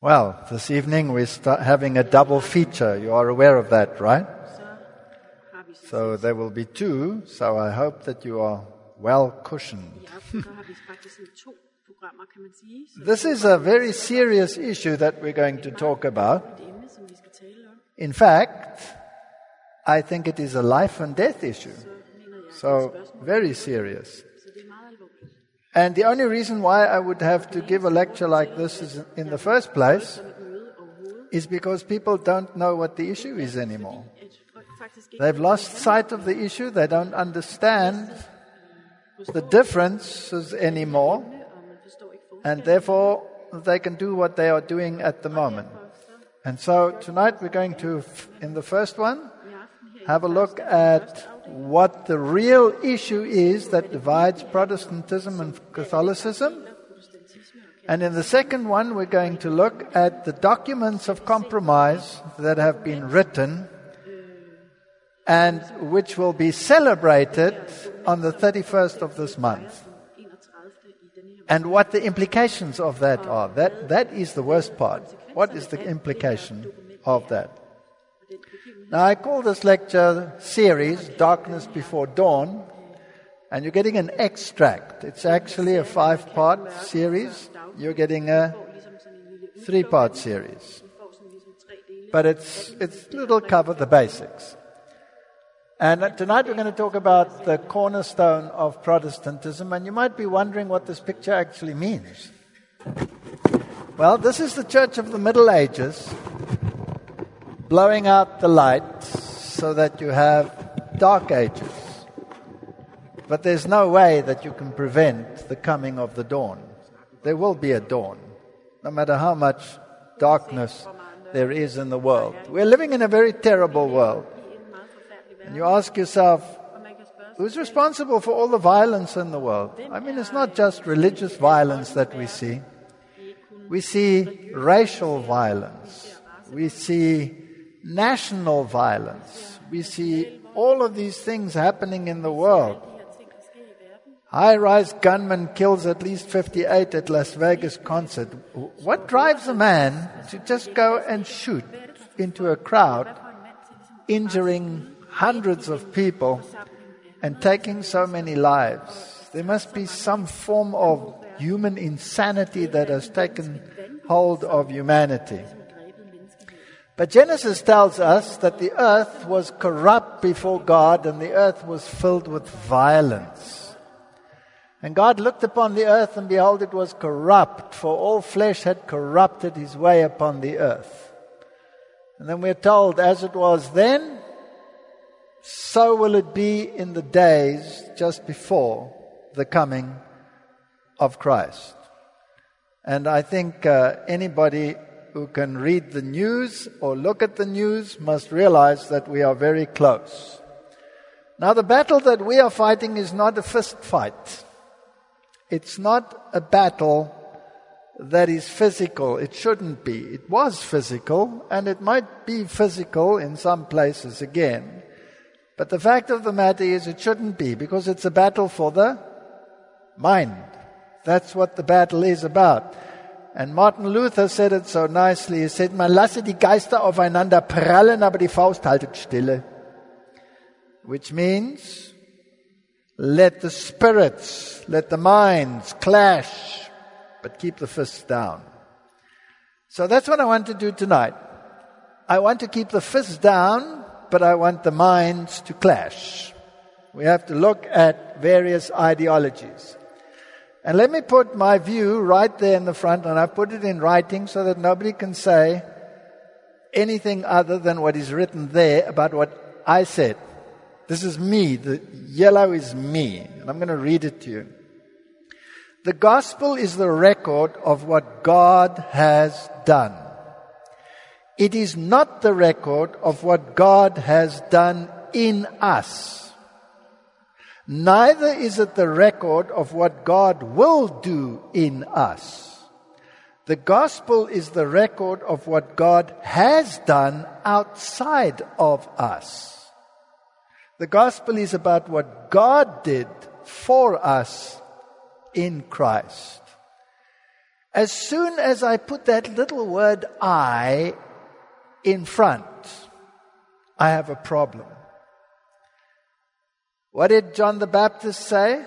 Well, this evening we're having a double feature. You are aware of that, right? So there will be two, so I hope that you are well cushioned. This is a very serious issue that we're going to talk about. In fact, I think it is a life and death issue. So, very serious. And the only reason why I would have to give a lecture like this in the first place is because people don't know what the issue is anymore. They've lost sight of the issue. They don't understand the differences anymore. And therefore, they can do what they are doing at the moment. And so tonight we're going to, in the first one, have a look at what the real issue is that divides Protestantism and Catholicism. And in the second one, we're going to look at the documents of compromise that have been written and which will be celebrated on the 31st of this month. And what the implications of that are. That is the worst part. What is the implication of that? Now, I call this lecture series Darkness Before Dawn, and you're getting an extract. It's actually a 5-part series. You're getting a 3-part series. But it'll cover the basics. And tonight we're going to talk about the cornerstone of Protestantism, and you might be wondering what this picture actually means. Well, this is the Church of the Middle Ages, blowing out the light so that you have dark ages. But there's no way that you can prevent the coming of the dawn. There will be a dawn, no matter how much darkness there is in the world. We're living in a very terrible world. And you ask yourself, who's responsible for all the violence in the world? I mean, it's not just religious violence that we see. We see racial violence. We see national violence. We see all of these things happening in the world. High-rise gunman kills at least 58 at Las Vegas concert. What drives a man to just go and shoot into a crowd, injuring hundreds of people and taking so many lives? There must be some form of human insanity that has taken hold of humanity. But Genesis tells us that the earth was corrupt before God and the earth was filled with violence. And God looked upon the earth and behold, it was corrupt, for all flesh had corrupted his way upon the earth. And then we're told, as it was then, so will it be in the days just before the coming of Christ. And I think anybody who can read the news or look at the news must realize that we are very close. Now, the battle that we are fighting is not a fist fight. It's not a battle that is physical. It shouldn't be. It was physical, and it might be physical in some places again. But the fact of the matter is it shouldn't be, because it's a battle for the mind. That's what the battle is about. And Martin Luther said it so nicely. He said, man lasse die Geister aufeinander prallen, aber die Faust haltet stille. Which means, let the spirits, let the minds clash, but keep the fists down. So that's what I want to do tonight. I want to keep the fists down, but I want the minds to clash. We have to look at various ideologies. And let me put my view right there in the front, and I put it in writing so that nobody can say anything other than what is written there about what I said. This is me. The yellow is me. And I'm going to read it to you. The gospel is the record of what God has done. It is not the record of what God has done in us. Neither is it the record of what God will do in us. The gospel is the record of what God has done outside of us. The gospel is about what God did for us in Christ. As soon as I put that little word I in front, I have a problem. What did John the Baptist say?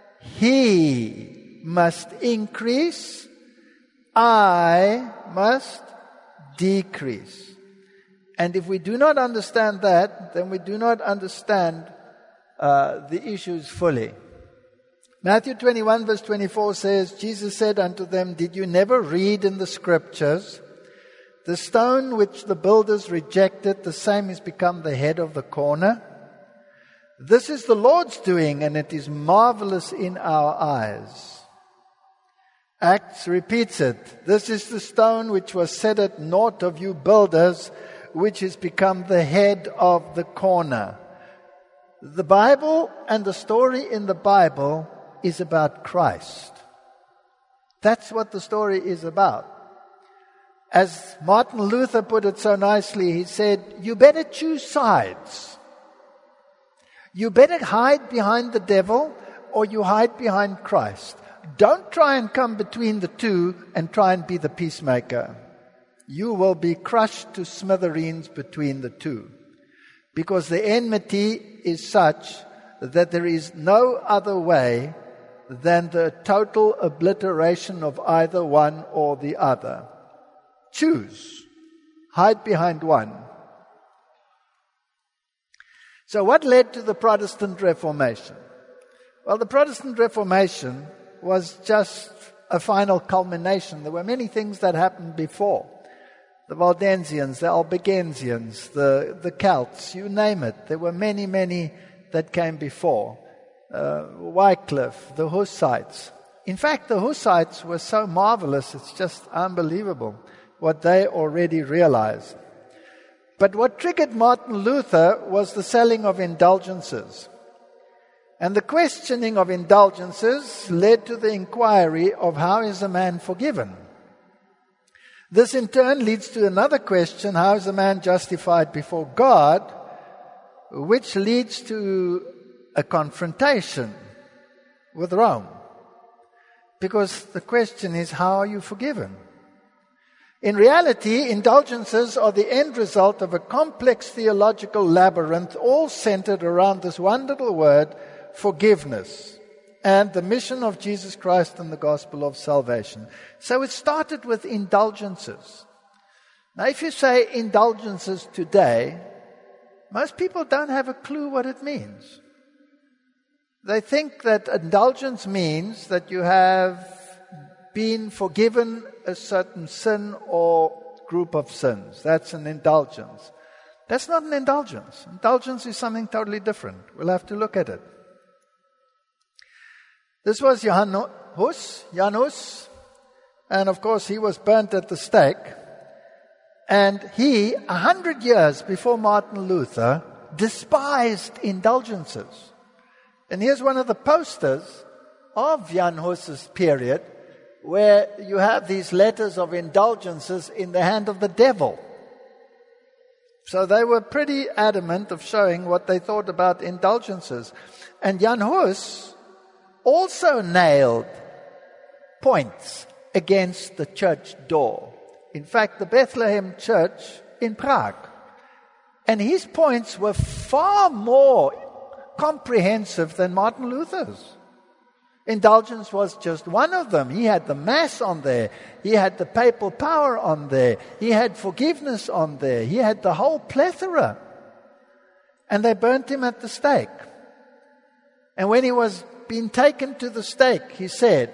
He must increase, I must decrease. And if we do not understand that, then we do not understand the issues fully. Matthew 21 verse 24 says, Jesus said unto them, did you never read in the scriptures, the stone which the builders rejected, the same is become the head of the corner? This is the Lord's doing, and it is marvelous in our eyes. Acts repeats it. This is the stone which was set at naught of you builders, which is become the head of the corner. The Bible and the story in the Bible is about Christ. That's what the story is about. As Martin Luther put it so nicely, he said, you better choose sides. You better hide behind the devil or you hide behind Christ. Don't try and come between the two and try and be the peacemaker. You will be crushed to smithereens between the two. Because the enmity is such that there is no other way than the total obliteration of either one or the other. Choose. Hide behind one. So what led to the Protestant Reformation? Well, the Protestant Reformation was just a final culmination. There were many things that happened before. The Waldensians, the Albigensians, the Celts, you name it. There were many, many that came before. Wycliffe, the Hussites. In fact, the Hussites were so marvelous, it's just unbelievable what they already realized. But what triggered Martin Luther was the selling of indulgences. And the questioning of indulgences led to the inquiry of how is a man forgiven? This in turn leads to another question, how is a man justified before God? Which leads to a confrontation with Rome. Because the question is, how are you forgiven? In reality, indulgences are the end result of a complex theological labyrinth, all centered around this one little word, forgiveness, and the mission of Jesus Christ and the gospel of salvation. So it started with indulgences. Now, if you say indulgences today, most people don't have a clue what it means. They think that indulgence means that you have been forgiven a certain sin or group of sins. That's an indulgence. That's not an indulgence. Indulgence is something totally different. We'll have to look at it. This was Jan Hus, and of course he was burnt at the stake. And he, 100 years before Martin Luther, despised indulgences. And here's one of the posters of Jan Hus's period, where you have these letters of indulgences in the hand of the devil. So they were pretty adamant of showing what they thought about indulgences. And Jan Hus also nailed points against the church door. In fact, the Bethlehem Church in Prague. And his points were far more comprehensive than Martin Luther's. Indulgence was just one of them. He had the Mass on there. He had the papal power on there. He had forgiveness on there. He had the whole plethora. And they burnt him at the stake. And when he was being taken to the stake, he said,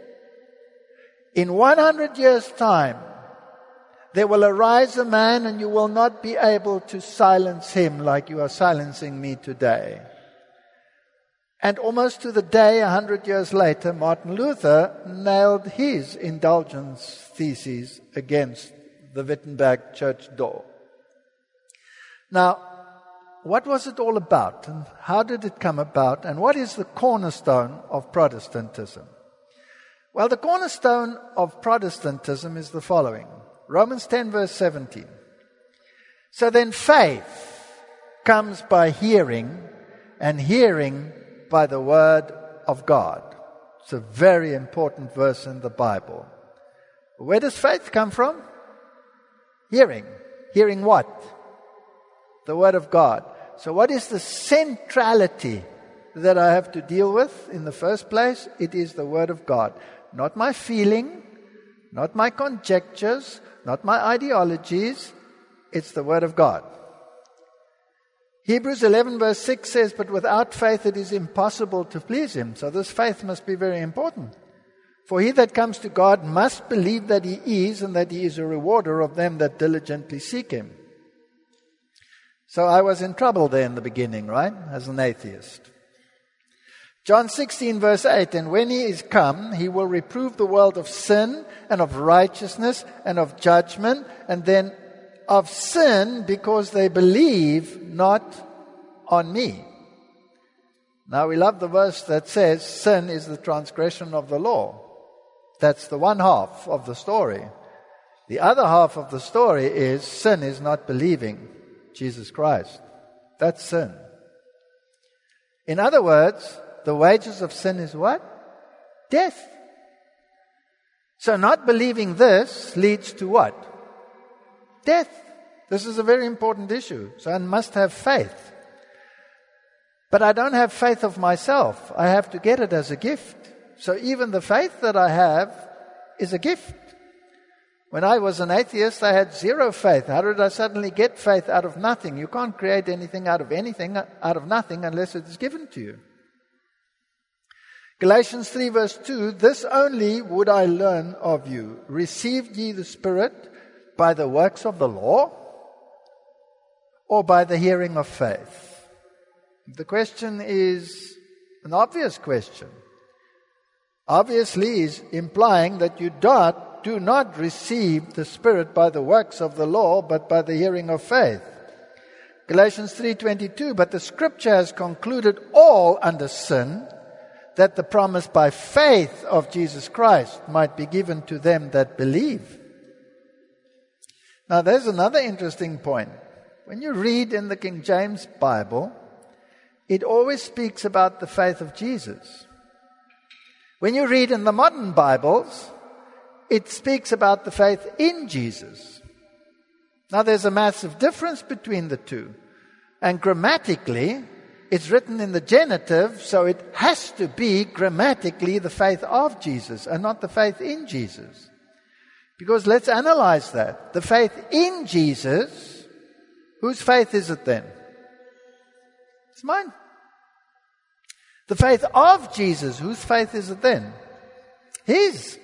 in 100 years' time, there will arise a man and you will not be able to silence him like you are silencing me today. And almost to the day, 100 years later, Martin Luther nailed his indulgence theses against the Wittenberg church door. Now, what was it all about? And how did it come about? And what is the cornerstone of Protestantism? Well, the cornerstone of Protestantism is the following. Romans 10 verse 17. So then faith comes by hearing, and hearing by the word of God. It's a very important verse in the Bible. Where does faith come from? Hearing. Hearing what? The Word of God. So what is the centrality that I have to deal with in the first place? It is the Word of God. Not my feeling, not my conjectures, not my ideologies. It's the Word of God. Hebrews 11 verse 6 says, but without faith it is impossible to please Him. So this faith must be very important. For he that comes to God must believe that He is, and that He is a rewarder of them that diligently seek Him. So I was in trouble there in the beginning, right? As an atheist. John 16 verse 8, and when He is come, He will reprove the world of sin and of righteousness and of judgment, and then of sin because they believe not on Me. Now we love the verse that says sin is the transgression of the law. That's the one half of the story. The other half of the story is sin is not believing Jesus Christ. That's sin. In other words, the wages of sin is what? Death. So not believing this leads to what? Death. This is a very important issue. So I must have faith. But I don't have faith of myself. I have to get it as a gift. So even the faith that I have is a gift. When I was an atheist, I had zero faith. How did I suddenly get faith out of nothing? You can't create anything out of nothing unless it is given to you. Galatians 3 verse 2, this only would I learn of you. Received ye the Spirit by the works of the law, or by the hearing of faith? The question is an obvious question. Obviously is implying that you do not receive the Spirit by the works of the law, but by the hearing of faith. Galatians 3:22, but the Scripture has concluded all under sin, that the promise by faith of Jesus Christ might be given to them that believe. Now there's another interesting point. When you read in the King James Bible, it always speaks about the faith of Jesus. When you read in the modern Bibles, it speaks about the faith in Jesus. Now there's a massive difference between the two. And grammatically, it's written in the genitive, so it has to be grammatically the faith of Jesus and not the faith in Jesus. Because let's analyze that. The faith in Jesus, whose faith is it then? It's mine. The faith of Jesus, whose faith is it then? His.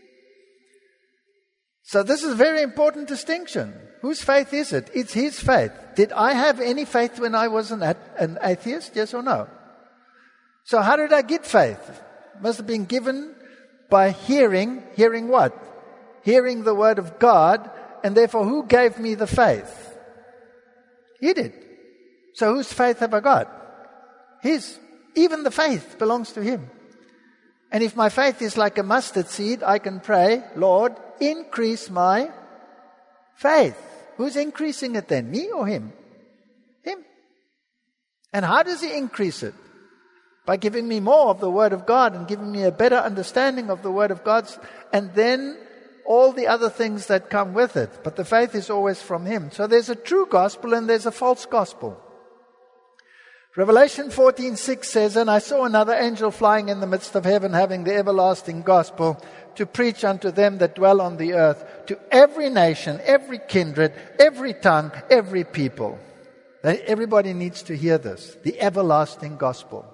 So this is a very important distinction. Whose faith is it? It's His faith. Did I have any faith when I was an atheist? Yes or no? So how did I get faith? It must have been given by hearing. Hearing what? Hearing the Word of God. And therefore, who gave me the faith? He did. So whose faith have I got? His. Even the faith belongs to Him. And if my faith is like a mustard seed, I can pray, Lord, increase my faith. Who's increasing it then? Me or Him? Him. And how does He increase it? By giving me more of the Word of God and giving me a better understanding of the Word of God, and then all the other things that come with it. But the faith is always from Him. So there's a true gospel and there's a false gospel. Revelation 14:6 says, and I saw another angel flying in the midst of heaven, having the everlasting gospel, to preach unto them that dwell on the earth, to every nation, every kindred, every tongue, every people. Everybody needs to hear this, the everlasting gospel.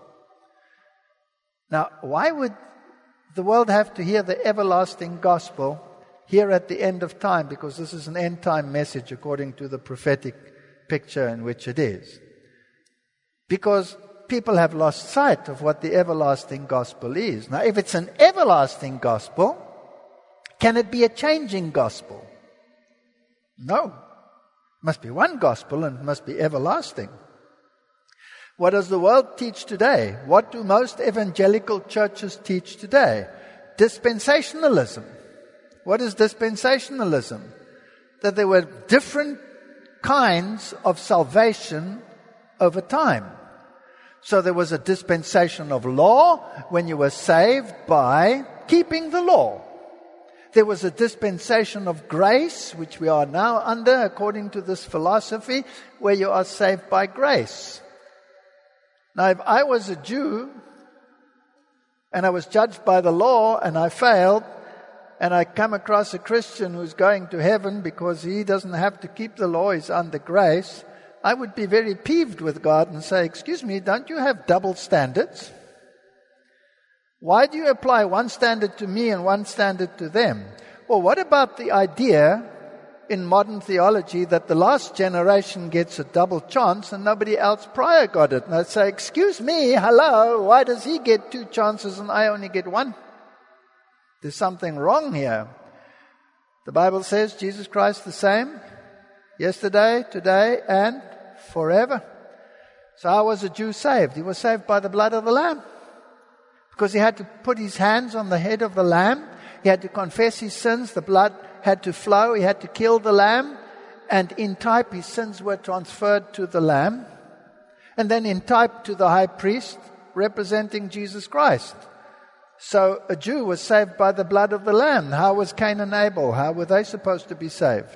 Now, why would the world have to hear the everlasting gospel here at the end of time? Because this is an end time message according to the prophetic picture in which it is. Because people have lost sight of what the everlasting gospel is. Now, if it's an everlasting gospel, can it be a changing gospel? No. It must be one gospel and it must be everlasting. What does the world teach today? What do most evangelical churches teach today? Dispensationalism. What is dispensationalism? That there were different kinds of salvation over time. So there was a dispensation of law when you were saved by keeping the law. There was a dispensation of grace, which we are now under, according to this philosophy, where you are saved by grace. Now, if I was a Jew, and I was judged by the law, and I failed, and I come across a Christian who's going to heaven because he doesn't have to keep the law, he's under grace, I would be very peeved with God and say, excuse me, don't you have double standards? Why do you apply one standard to me and one standard to them? Well, what about the idea in modern theology that the last generation gets a double chance and nobody else prior got it? And I'd say, excuse me, hello, why does he get 2 chances and I only get 1? There's something wrong here. The Bible says Jesus Christ the same, yesterday, today, and forever. So how was a Jew saved? He was saved by the blood of the Lamb. Because he had to put his hands on the head of the lamb. He had to confess his sins. The blood had to flow. He had to kill the lamb. And in type, his sins were transferred to the lamb. And then in type to the high priest, representing Jesus Christ. So a Jew was saved by the blood of the lamb. How was Cain and Abel? How were they supposed to be saved?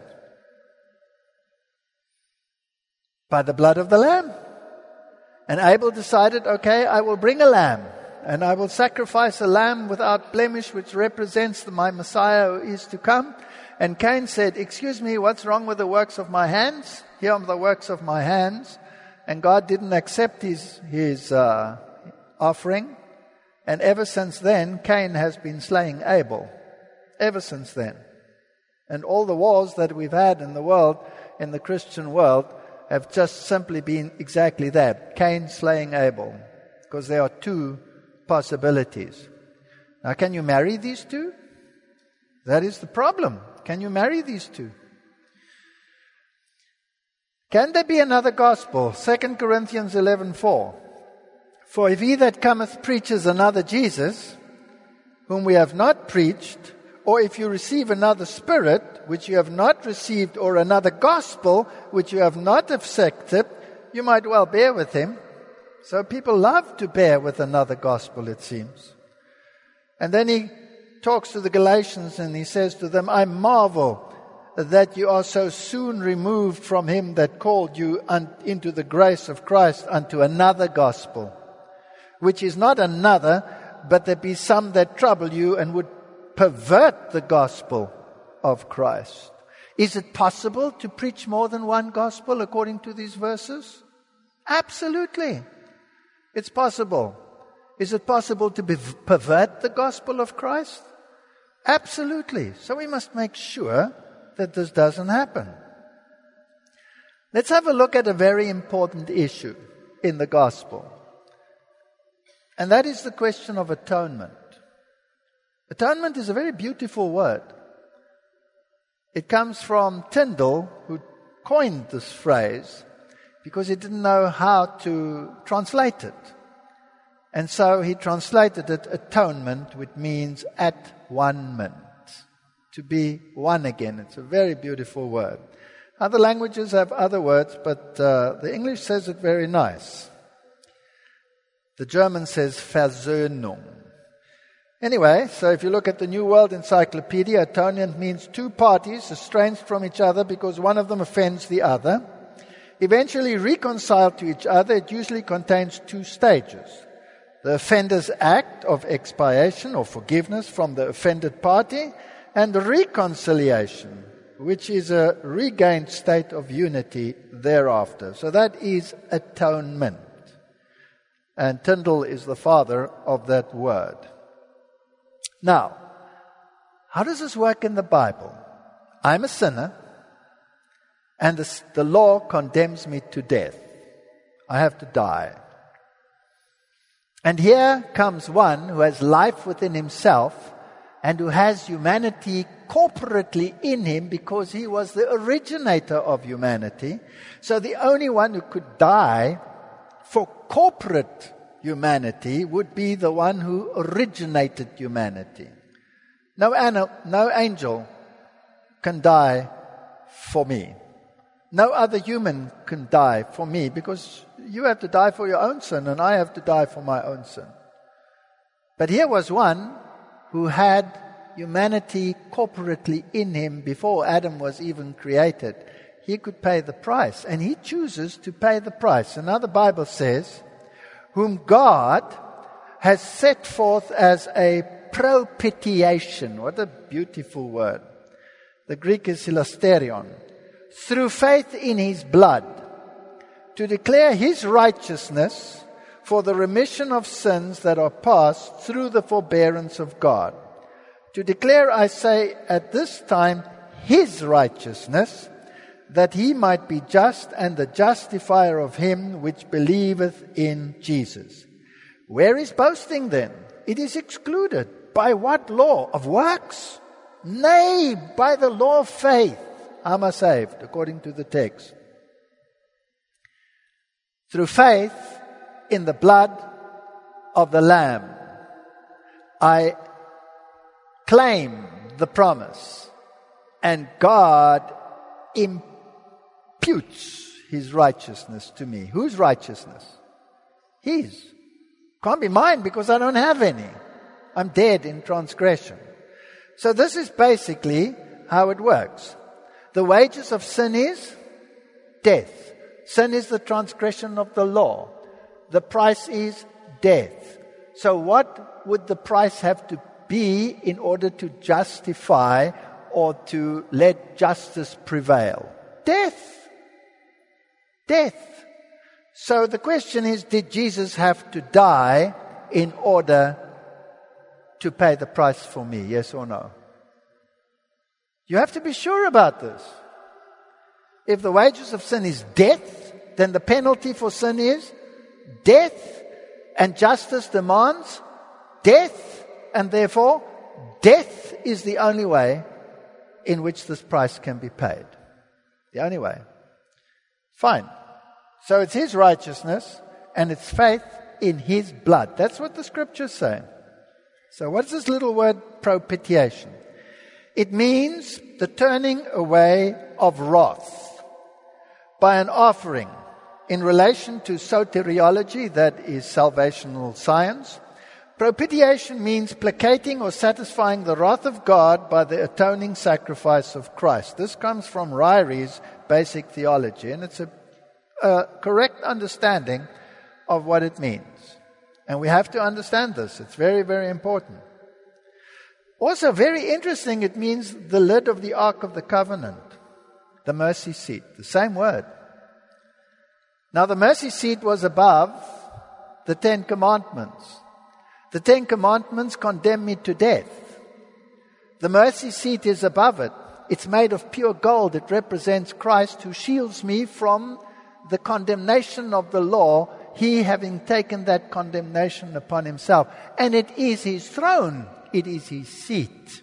By the blood of the lamb. And Abel decided, okay, I will bring a lamb. And I will sacrifice a lamb without blemish, which represents my Messiah who is to come. And Cain said, excuse me, what's wrong with the works of my hands? Here are the works of my hands. And God didn't accept his offering. And ever since then, Cain has been slaying Abel. Ever since then. And all the wars that we've had in the world, in the Christian world, have just simply been exactly that. Cain slaying Abel. Because there are 2 possibilities. Now, can you marry these 2? That is the problem. Can you marry these 2? Can there be another gospel? 2 Corinthians 11:4. For if he that cometh preaches another Jesus, whom we have not preached, or if you receive another spirit, which you have not received, or another gospel, which you have not accepted, you might well bear with him. So people love to bear with another gospel, it seems. And then he talks to the Galatians and he says to them, I marvel that you are so soon removed from him that called you into the grace of Christ unto another gospel, which is not another, but there be some that trouble you and would pervert the gospel of Christ. Is it possible to preach more than one gospel according to these verses? Absolutely. It's possible. Is it possible to pervert the gospel of Christ? Absolutely. So we must make sure that this doesn't happen. Let's have a look at a very important issue in the gospel. And that is the question of atonement. Atonement is a very beautiful word. It comes from Tyndall, who coined this phrase, because he didn't know how to translate it. And so he translated it atonement, which means at one-ment, to be one again. It's a very beautiful word. Other languages have other words, but the English says it very nice. The German says Versöhnung. Anyway, so if you look at the New World Encyclopedia, atonement means 2 parties estranged from each other because one of them offends the other. Eventually reconciled to each other, it usually contains 2 stages. The offender's act of expiation or forgiveness from the offended party, and reconciliation, which is a regained state of unity thereafter. So that is atonement. And Tyndall is the father of that word. Now, how does this work in the Bible? I'm a sinner, and the law condemns me to death. I have to die. And here comes one who has life within himself and who has humanity corporately in him because he was the originator of humanity. So the only one who could die for corporate humanity would be the one who originated humanity. No angel can die for me. No other human can die for me because you have to die for your own sin and I have to die for my own sin. But here was one who had humanity corporately in him before Adam was even created, he could pay the price. And he chooses to pay the price. And now the Bible says, whom God has set forth as a propitiation. What a beautiful word. The Greek is hilasterion. Through faith in his blood, to declare his righteousness for the remission of sins that are past through the forbearance of God. To declare, I say, at this time, his righteousness, that he might be just and the justifier of him which believeth in Jesus. Where is boasting then? It is excluded. By what law? Of works? Nay, by the law of faith. Am I saved, according to the text? Through faith in the blood of the Lamb, I claim the promise, and God imputes his righteousness to me. Whose righteousness? His. Can't be mine because I don't have any. I'm dead in transgression. So this is basically how it works. The wages of sin is death. Sin is the transgression of the law. The price is death. So what would the price have to be in order to justify or to let justice prevail? Death. Death. So the question is, did Jesus have to die in order to pay the price for me? Yes or no? You have to be sure about this. If the wages of sin is death, then the penalty for sin is death, and justice demands death, and therefore death is the only way in which this price can be paid. The only way. Fine. So it's his righteousness and it's faith in his blood. That's what the scriptures say. So what's this little word propitiation? It means the turning away of wrath by an offering. In relation to soteriology, that is salvational science, propitiation means placating or satisfying the wrath of God by the atoning sacrifice of Christ. This comes from Ryrie's basic theology, and it's a correct understanding of what it means. And we have to understand this. It's very, very important. Also, very interesting, it means the lid of the Ark of the Covenant, the mercy seat, the same word. Now, the mercy seat was above the 10 Commandments. The 10 Commandments condemn me to death. The mercy seat is above it. It's made of pure gold. It represents Christ who shields me from the condemnation of the law, he having taken that condemnation upon himself. And it is his throne. It is his seat.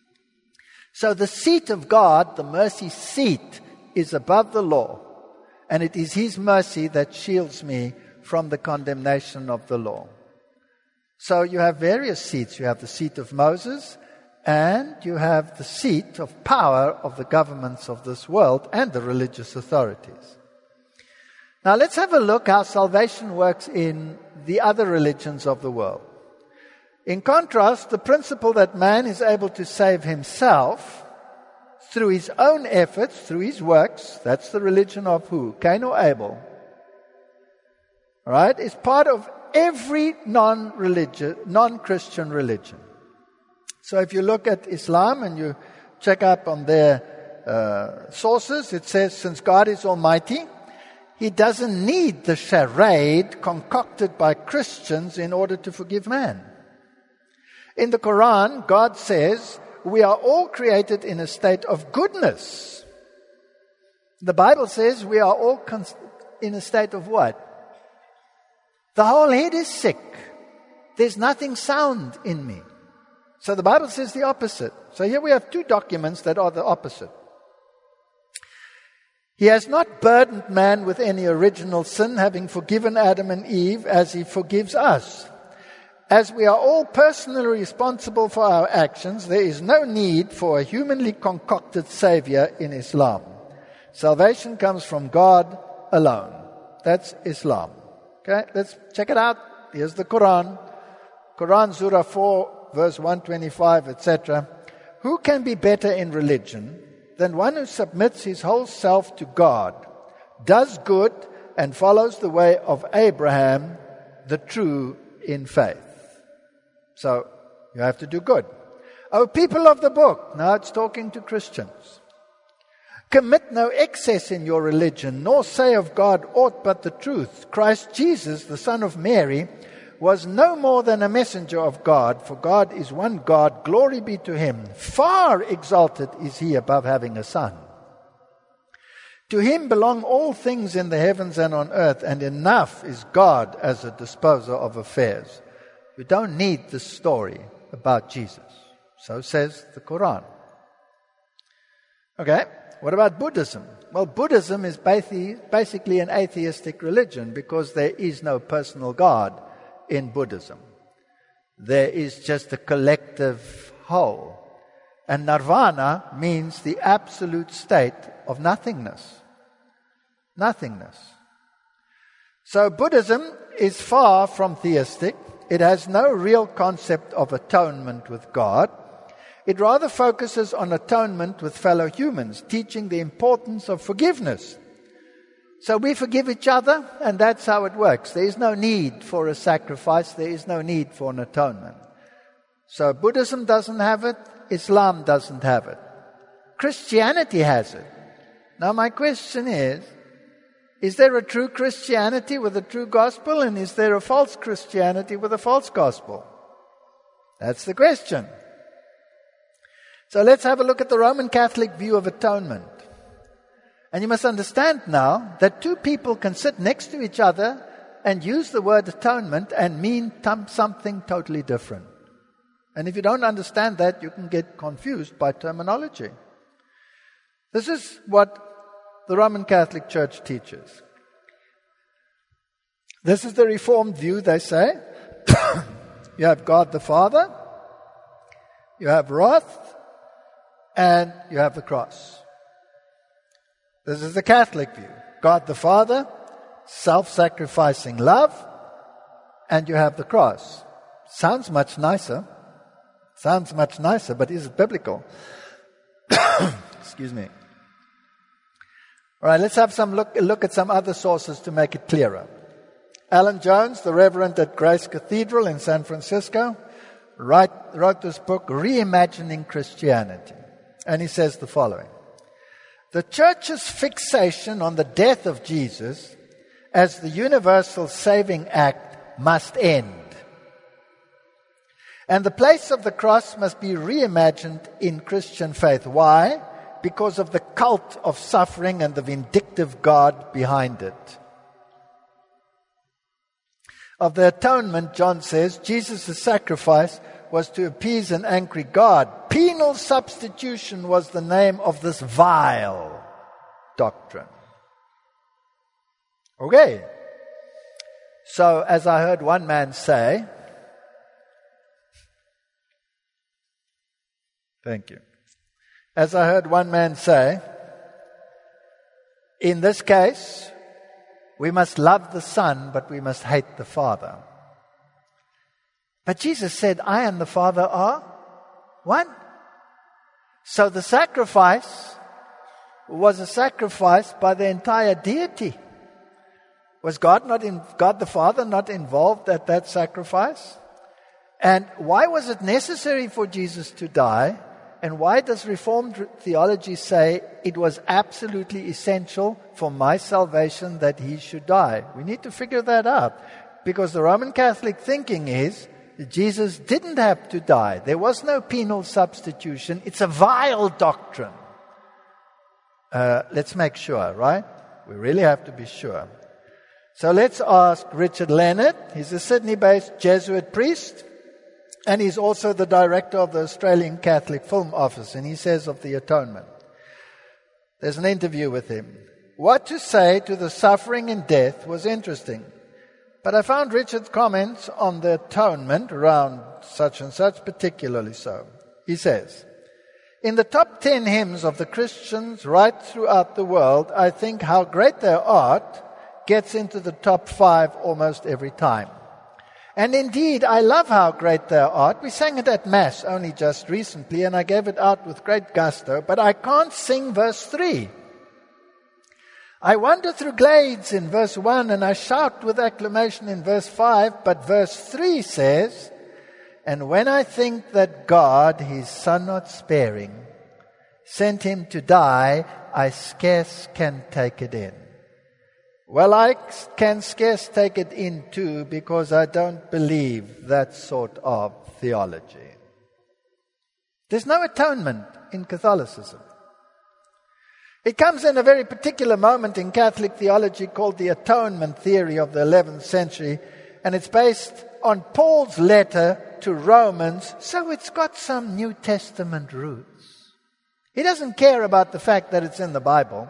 So the seat of God, the mercy seat, is above the law. And it is his mercy that shields me from the condemnation of the law. So you have various seats. You have the seat of Moses, and you have the seat of power of the governments of this world and the religious authorities. Now let's have a look how salvation works in the other religions of the world. In contrast, the principle that man is able to save himself through his own efforts, through his works, that's the religion of who? Cain or Abel? All right? Is part of every non-Christian religion. So if you look at Islam and you check up on their sources, it says, since God is almighty, he doesn't need the charade concocted by Christians in order to forgive man. In the Quran, God says, we are all created in a state of goodness. The Bible says we are all in a state of what? The whole head is sick. There's nothing sound in me. So the Bible says the opposite. So here we have two documents that are the opposite. He has not burdened man with any original sin, having forgiven Adam and Eve as he forgives us. As we are all personally responsible for our actions, there is no need for a humanly concocted savior in Islam. Salvation comes from God alone. That's Islam. Okay, let's check it out. Here's the Quran. Quran, Surah 4, verse 125, etc. who can be better in religion than one who submits his whole self to God, does good, and follows the way of Abraham, the true in faith? So, you have to do good. O people of the book, now it's talking to Christians, commit no excess in your religion, nor say of God aught but the truth. Christ Jesus, the Son of Mary, was no more than a messenger of God, for God is one God, glory be to him. Far exalted is he above having a son. To him belong all things in the heavens and on earth, and enough is God as a disposer of affairs. You don't need the story about Jesus. So says the Quran. Okay, what about Buddhism? Well, Buddhism is basically an atheistic religion because there is no personal God in Buddhism. There is just a collective whole. And nirvana means the absolute state of nothingness. Nothingness. So Buddhism is far from theistic. It has no real concept of atonement with God. It rather focuses on atonement with fellow humans, teaching the importance of forgiveness. So we forgive each other, and that's how it works. There is no need for a sacrifice. There is no need for an atonement. So Buddhism doesn't have it. Islam doesn't have it. Christianity has it. Now my question is there a true Christianity with a true gospel, and is there a false Christianity with a false gospel? That's the question. So let's have a look at the Roman Catholic view of atonement. And you must understand now that two people can sit next to each other and use the word atonement and mean something totally different. And if you don't understand that, you can get confused by terminology. This is what the Roman Catholic Church teaches. This is the Reformed view, they say. You have God the Father, you have wrath, and you have the cross. This is the Catholic view. God the Father, self-sacrificing love, and you have the cross. Sounds much nicer, but is it biblical? Excuse me. All right, let's have some look at some other sources to make it clearer. Alan Jones, the Reverend at Grace Cathedral in San Francisco, wrote this book, Reimagining Christianity. And he says the following: the Church's fixation on the death of Jesus as the universal saving act must end. And the place of the cross must be reimagined in Christian faith. Why? Because of the cult of suffering and the vindictive God behind it. Of the atonement, John says, Jesus' sacrifice was to appease an angry God. Penal substitution was the name of this vile doctrine. Okay. So, as I heard one man say, thank you. As I heard one man say, in this case, we must love the Son, but we must hate the Father. But Jesus said, I and the Father are one. So the sacrifice was a sacrifice by the entire deity. Was God the Father not involved at that sacrifice? And why was it necessary for Jesus to die? And why does Reformed theology say it was absolutely essential for my salvation that he should die? We need to figure that out. Because the Roman Catholic thinking is that Jesus didn't have to die. There was no penal substitution. It's a vile doctrine. Let's make sure, right? We really have to be sure. So let's ask Richard Leonard. He's a Sydney-based Jesuit priest. And he's also the director of the Australian Catholic Film Office. And he says of the atonement. There's an interview with him. What to say to the suffering and death was interesting. But I found Richard's comments on the atonement around such and such particularly so. He says, in the top 10 hymns of the Christians right throughout the world, I think How Great Thou Art gets into the top 5 almost every time. And indeed, I love how great thou art. We sang it at Mass only just recently, and I gave it out with great gusto, but I can't sing verse 3. I wander through glades in verse 1, and I shout with acclamation in verse 5, but verse 3 says, and when I think that God, his Son not sparing, sent him to die, I scarce can take it in. Well, I can scarce take it in too, because I don't believe that sort of theology. There's no atonement in Catholicism. It comes in a very particular moment in Catholic theology called the atonement theory of the 11th century, and it's based on Paul's letter to Romans, so it's got some New Testament roots. He doesn't care about the fact that it's in the Bible.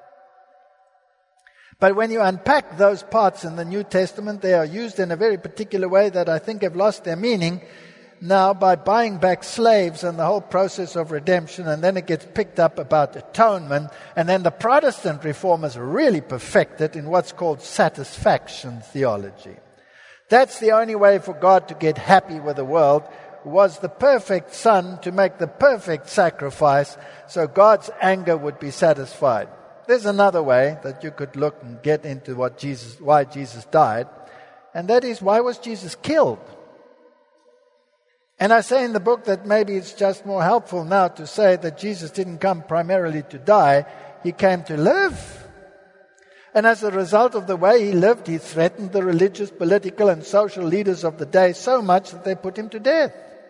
But when you unpack those parts in the New Testament, they are used in a very particular way that I think have lost their meaning now by buying back slaves and the whole process of redemption, and then it gets picked up about atonement, and then the Protestant reformers really perfect it in what's called satisfaction theology. That's the only way for God to get happy with the world, was the perfect Son to make the perfect sacrifice so God's anger would be satisfied. There's another way that you could look and get into why Jesus died, and that is, why was Jesus killed? And I say in the book that maybe it's just more helpful now to say that Jesus didn't come primarily to die, he came to live. And as a result of the way he lived, he threatened the religious, political, and social leaders of the day so much that they put him to death.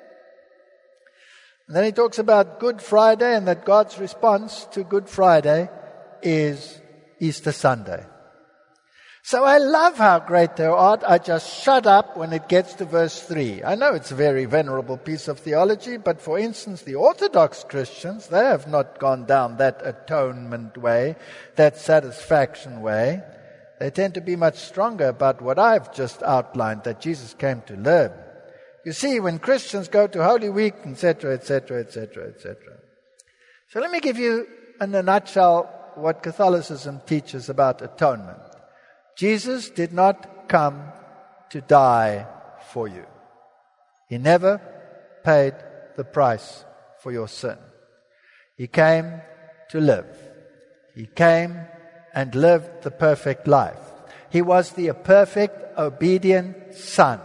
And then he talks about Good Friday, and that God's response to Good Friday is Easter Sunday. So I love how great thou art. I just shut up when it gets to verse 3. I know it's a very venerable piece of theology, but for instance, the Orthodox Christians, they have not gone down that atonement way, that satisfaction way. They tend to be much stronger about what I've just outlined, that Jesus came to live. You see, when Christians go to Holy Week, etc., etc., etc., etc. So let me give you, in a nutshell, what Catholicism teaches about atonement. Jesus did not come to die for you. He never paid the price for your sin. He came to live. He came and lived the perfect life. He was the perfect, obedient Son.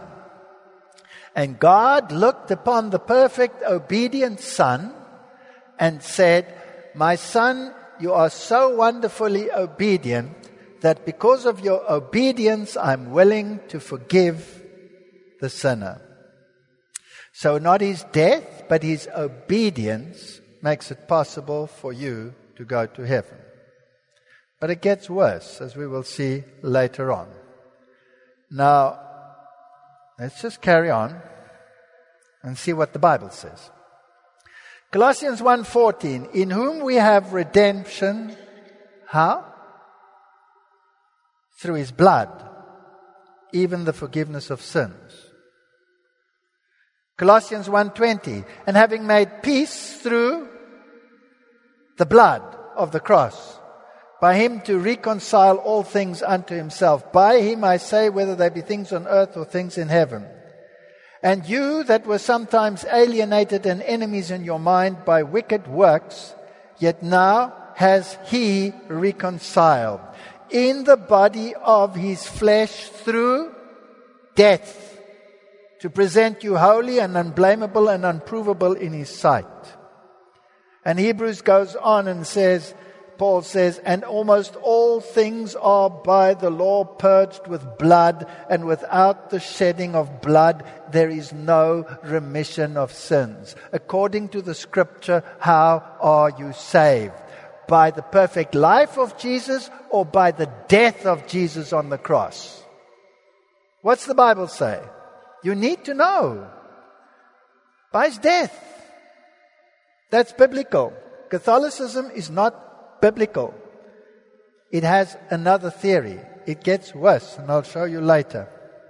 And God looked upon the perfect, obedient Son and said, my Son, you are so wonderfully obedient that because of your obedience, I'm willing to forgive the sinner. So not his death, but his obedience makes it possible for you to go to heaven. But it gets worse, as we will see later on. Now, let's just carry on and see what the Bible says. Colossians 1:14, in whom we have redemption. How? Through his blood, even the forgiveness of sins. Colossians 1:20, and having made peace through the blood of the cross, by him to reconcile all things unto himself. By him I say, whether they be things on earth or things in heaven. And you that were sometimes alienated and enemies in your mind by wicked works, yet now has he reconciled in the body of his flesh through death, to present you holy and unblameable and unprovable in his sight. And Hebrews goes on and says, Paul says, and almost all things are by the law purged with blood, and without the shedding of blood there is no remission of sins. According to the scripture, how are you saved? By the perfect life of Jesus, or by the death of Jesus on the cross? What's the Bible say? You need to know. By his death. That's biblical. Catholicism is not biblical. It has another theory. It gets worse, and I'll show you later.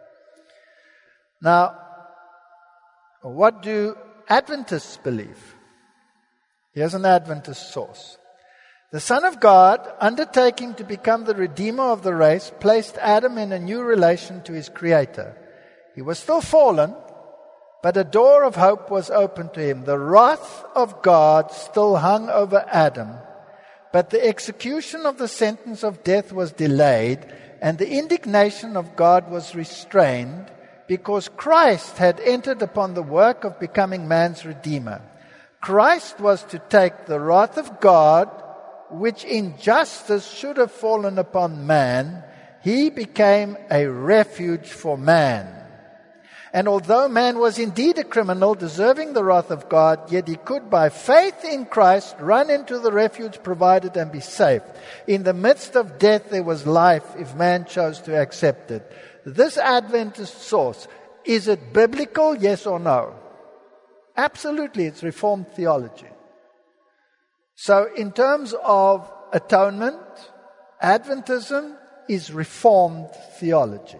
Now, what do Adventists believe? Here's an Adventist source. The Son of God, undertaking to become the Redeemer of the race, placed Adam in a new relation to his Creator. He was still fallen, but a door of hope was opened to him. The wrath of God still hung over Adam, but the execution of the sentence of death was delayed, and the indignation of God was restrained, because Christ had entered upon the work of becoming man's Redeemer. Christ was to take the wrath of God, which in justice should have fallen upon man. He became a refuge for man. And although man was indeed a criminal, deserving the wrath of God, yet he could, by faith in Christ, run into the refuge provided and be saved. In the midst of death, there was life if man chose to accept it. This Adventist source, is it biblical, yes or no? Absolutely, it's Reformed theology. So in terms of atonement, Adventism is Reformed theology.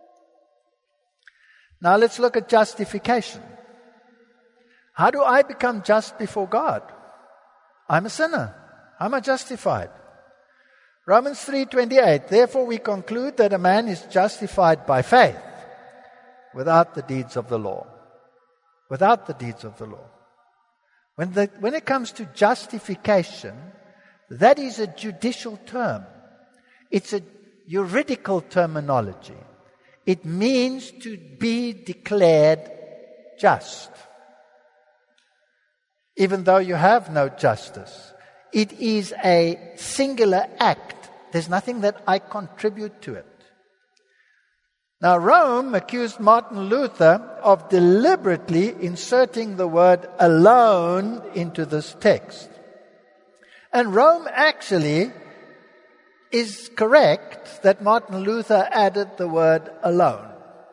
Now let's look at justification. How do I become just before God? I'm a sinner. How am I justified? Romans 3:28, therefore we conclude that a man is justified by faith without the deeds of the law. Without the deeds of the law. When it comes to justification, that is a judicial term. It's a juridical terminology. It means to be declared just, even though you have no justice. It is a singular act. There's nothing that I contribute to it. Now, Rome accused Martin Luther of deliberately inserting the word alone into this text. And Rome actually is correct that Martin Luther added the word alone.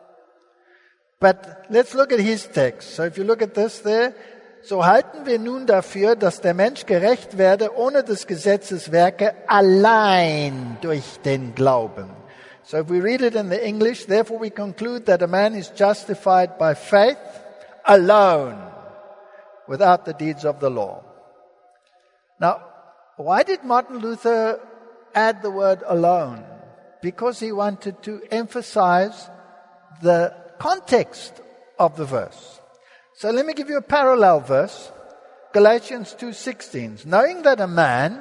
But let's look at his text. So if you look at this there, so halten wir nun dafür, dass der Mensch gerecht werde ohne des Gesetzes Werke allein durch den Glauben. So if we read it in the English, therefore we conclude that a man is justified by faith alone, without the deeds of the law. Now, why did Martin Luther add the word alone? Because he wanted to emphasize the context of the verse. So let me give you a parallel verse. Galatians 2:16. Knowing that a man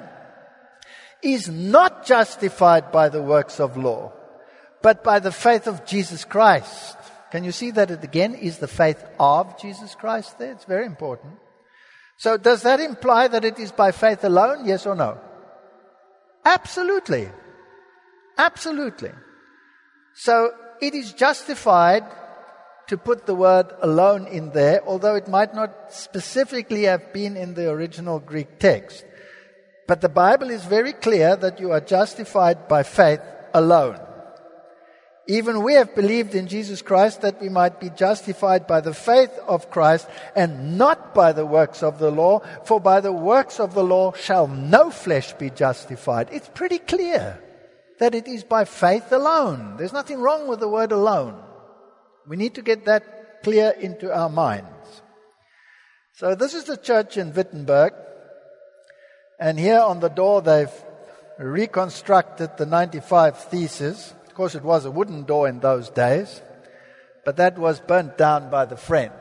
is not justified by the works of law, but by the faith of Jesus Christ. Can you see that it again is the faith of Jesus Christ there? It's very important. So does that imply that it is by faith alone? Yes or no? Absolutely. Absolutely. So it is justified to put the word alone in there, although it might not specifically have been in the original Greek text. But the Bible is very clear that you are justified by faith alone. Even we have believed in Jesus Christ that we might be justified by the faith of Christ and not by the works of the law, for by the works of the law shall no flesh be justified. It's pretty clear that it is by faith alone. There's nothing wrong with the word alone. We need to get that clear into our minds. So this is the church in Wittenberg. And here on the door they've reconstructed the 95 Theses. Of course, it was a wooden door in those days, but that was burnt down by the French.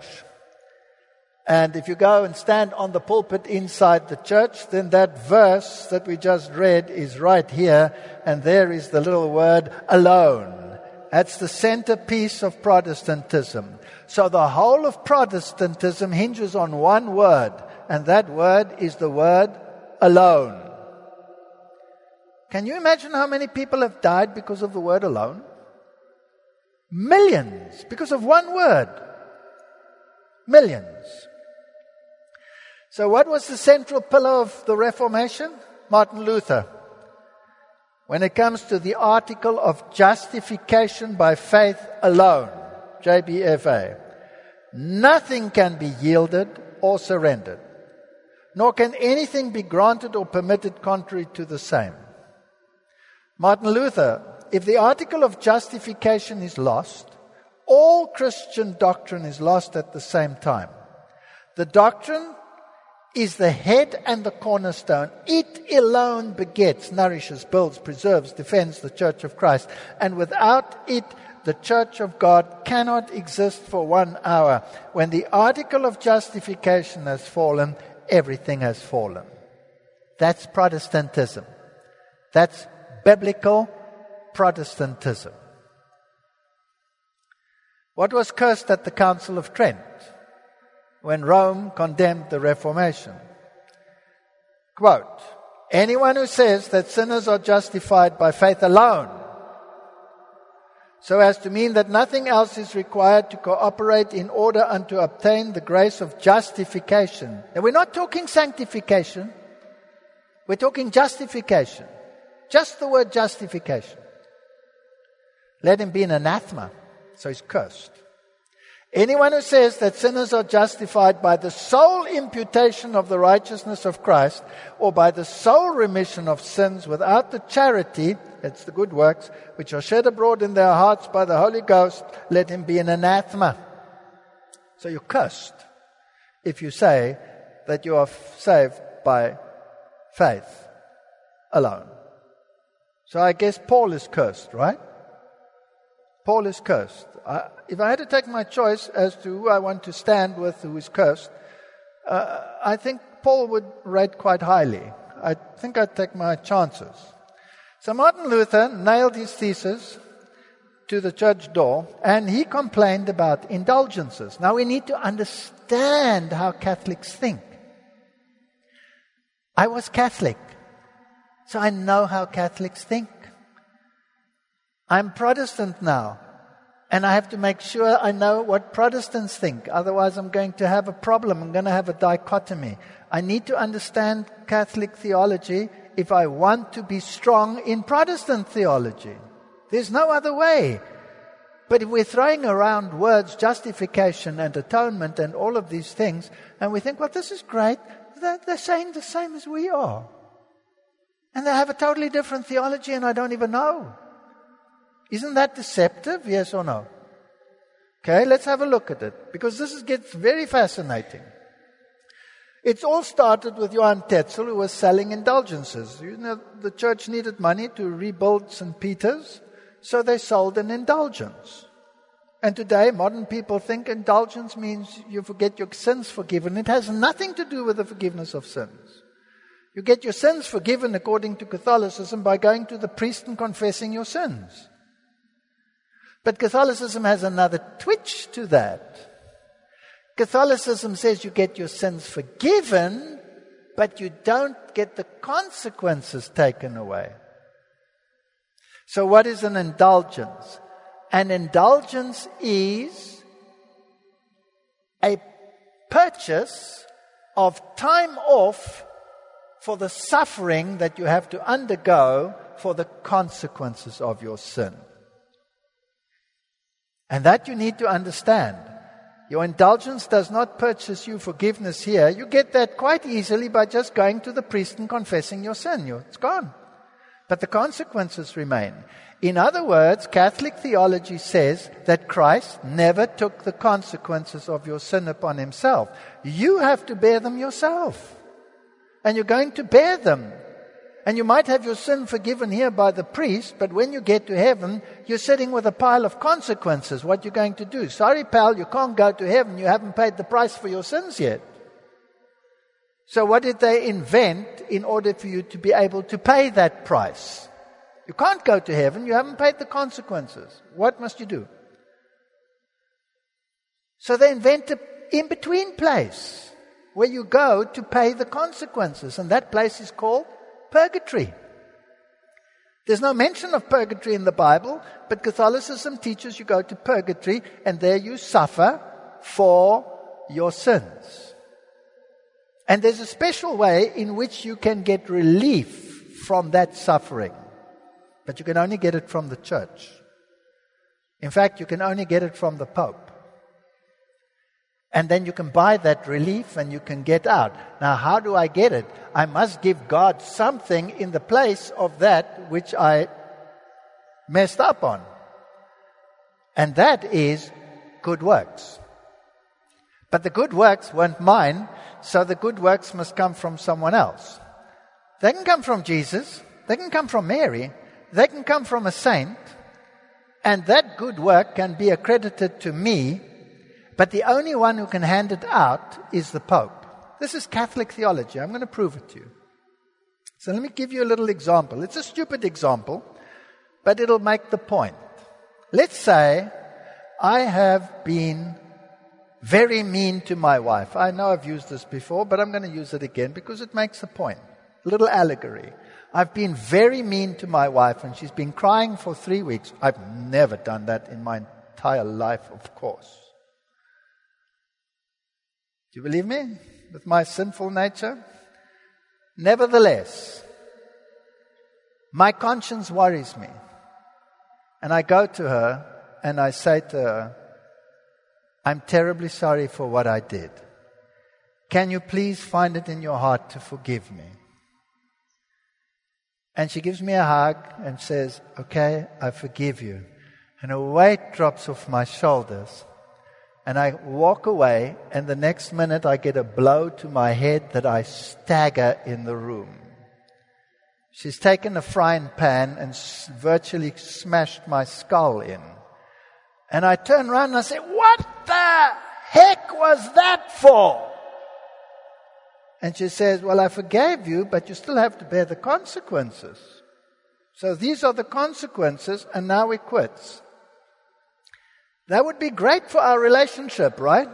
And if you go and stand on the pulpit inside the church, then that verse that we just read is right here, and there is the little word alone. That's the centerpiece of Protestantism. So the whole of Protestantism hinges on one word, and that word is the word alone. Can you imagine how many people have died because of the word alone? Millions, because of one word. Millions. So what was the central pillar of the Reformation? Martin Luther. When it comes to the article of justification by faith alone, JBFA, nothing can be yielded or surrendered, nor can anything be granted or permitted contrary to the same. Martin Luther, if the article of justification is lost, all Christian doctrine is lost at the same time. The doctrine is the head and the cornerstone. It alone begets, nourishes, builds, preserves, defends the Church of Christ. And without it, the church of God cannot exist for 1 hour. When the article of justification has fallen, everything has fallen. That's Protestantism. That's biblical Protestantism. What was cursed at the Council of Trent when Rome condemned the Reformation? Quote, anyone who says that sinners are justified by faith alone, so as to mean that nothing else is required to cooperate in order unto obtain the grace of justification. And we're not talking sanctification. We're talking justification. Just the word justification. Let him be an anathema. So he's cursed. Anyone who says that sinners are justified by the sole imputation of the righteousness of Christ, or by the sole remission of sins without the charity, that's the good works, which are shed abroad in their hearts by the Holy Ghost, let him be an anathema. So you're cursed if you say that you are saved by faith alone. So I guess Paul is cursed, right? Paul is cursed. If I had to take my choice as to who I want to stand with who is cursed, I think Paul would rate quite highly. I think I'd take my chances. So Martin Luther nailed his thesis to the church door, and he complained about indulgences. Now we need to understand how Catholics think. I was Catholic, so I know how Catholics think. I'm Protestant now, and I have to make sure I know what Protestants think. Otherwise, I'm going to have a problem. I'm going to have a dichotomy. I need to understand Catholic theology if I want to be strong in Protestant theology. There's no other way. But if we're throwing around words, justification and atonement and all of these things, and we think, well, this is great, they're saying the same as we are. And they have a totally different theology, and I don't even know. Isn't that deceptive? Yes or no? Okay, let's have a look at it, because this gets very fascinating. It's all started with Johann Tetzel, who was selling indulgences. You know, the church needed money to rebuild St. Peter's, so they sold an indulgence. And today, modern people think indulgence means you get your sins forgiven. It has nothing to do with the forgiveness of sins. You get your sins forgiven according to Catholicism by going to the priest and confessing your sins. But Catholicism has another twitch to that. Catholicism says you get your sins forgiven, but you don't get the consequences taken away. So what is an indulgence? An indulgence is a purchase of time off for the suffering that you have to undergo for the consequences of your sin. And that you need to understand. Your indulgence does not purchase you forgiveness here. You get that quite easily by just going to the priest and confessing your sin. It's gone. But the consequences remain. In other words, Catholic theology says that Christ never took the consequences of your sin upon himself. You have to bear them yourself. And you're going to bear them. And you might have your sin forgiven here by the priest, but when you get to heaven, you're sitting with a pile of consequences. What you're going to do? Sorry, pal, you can't go to heaven. You haven't paid the price for your sins yet. So what did they invent in order for you to be able to pay that price? You can't go to heaven. You haven't paid the consequences. What must you do? So they invent an in-between place where you go to pay the consequences. And that place is called purgatory. There's no mention of purgatory in the Bible, but Catholicism teaches you go to purgatory and there you suffer for your sins. And there's a special way in which you can get relief from that suffering. But you can only get it from the church. In fact, you can only get it from the Pope. And then you can buy that relief and you can get out. Now, how do I get it? I must give God something in the place of that which I messed up on. And that is good works. But the good works weren't mine, so the good works must come from someone else. They can come from Jesus. They can come from Mary. They can come from a saint. And that good work can be accredited to me, but the only one who can hand it out is the Pope. This is Catholic theology. I'm going to prove it to you. So let me give you a little example. It's a stupid example, but it'll make the point. Let's say I have been very mean to my wife. I know I've used this before, but I'm going to use it again because it makes a point. A little allegory. I've been very mean to my wife and she's been crying for 3 weeks. I've never done that in my entire life, of course. Do you believe me? With my sinful nature? Nevertheless, my conscience worries me. And I go to her and I say to her, I'm terribly sorry for what I did. Can you please find it in your heart to forgive me? And she gives me a hug and says, okay, I forgive you. And a weight drops off my shoulders. And I walk away, and the next minute I get a blow to my head that I stagger in the room. She's taken a frying pan and virtually smashed my skull in. And I turn around and I say, what the heck was that for? And she says, well, I forgave you, but you still have to bear the consequences. So these are the consequences, and now we quit. That would be great for our relationship, right?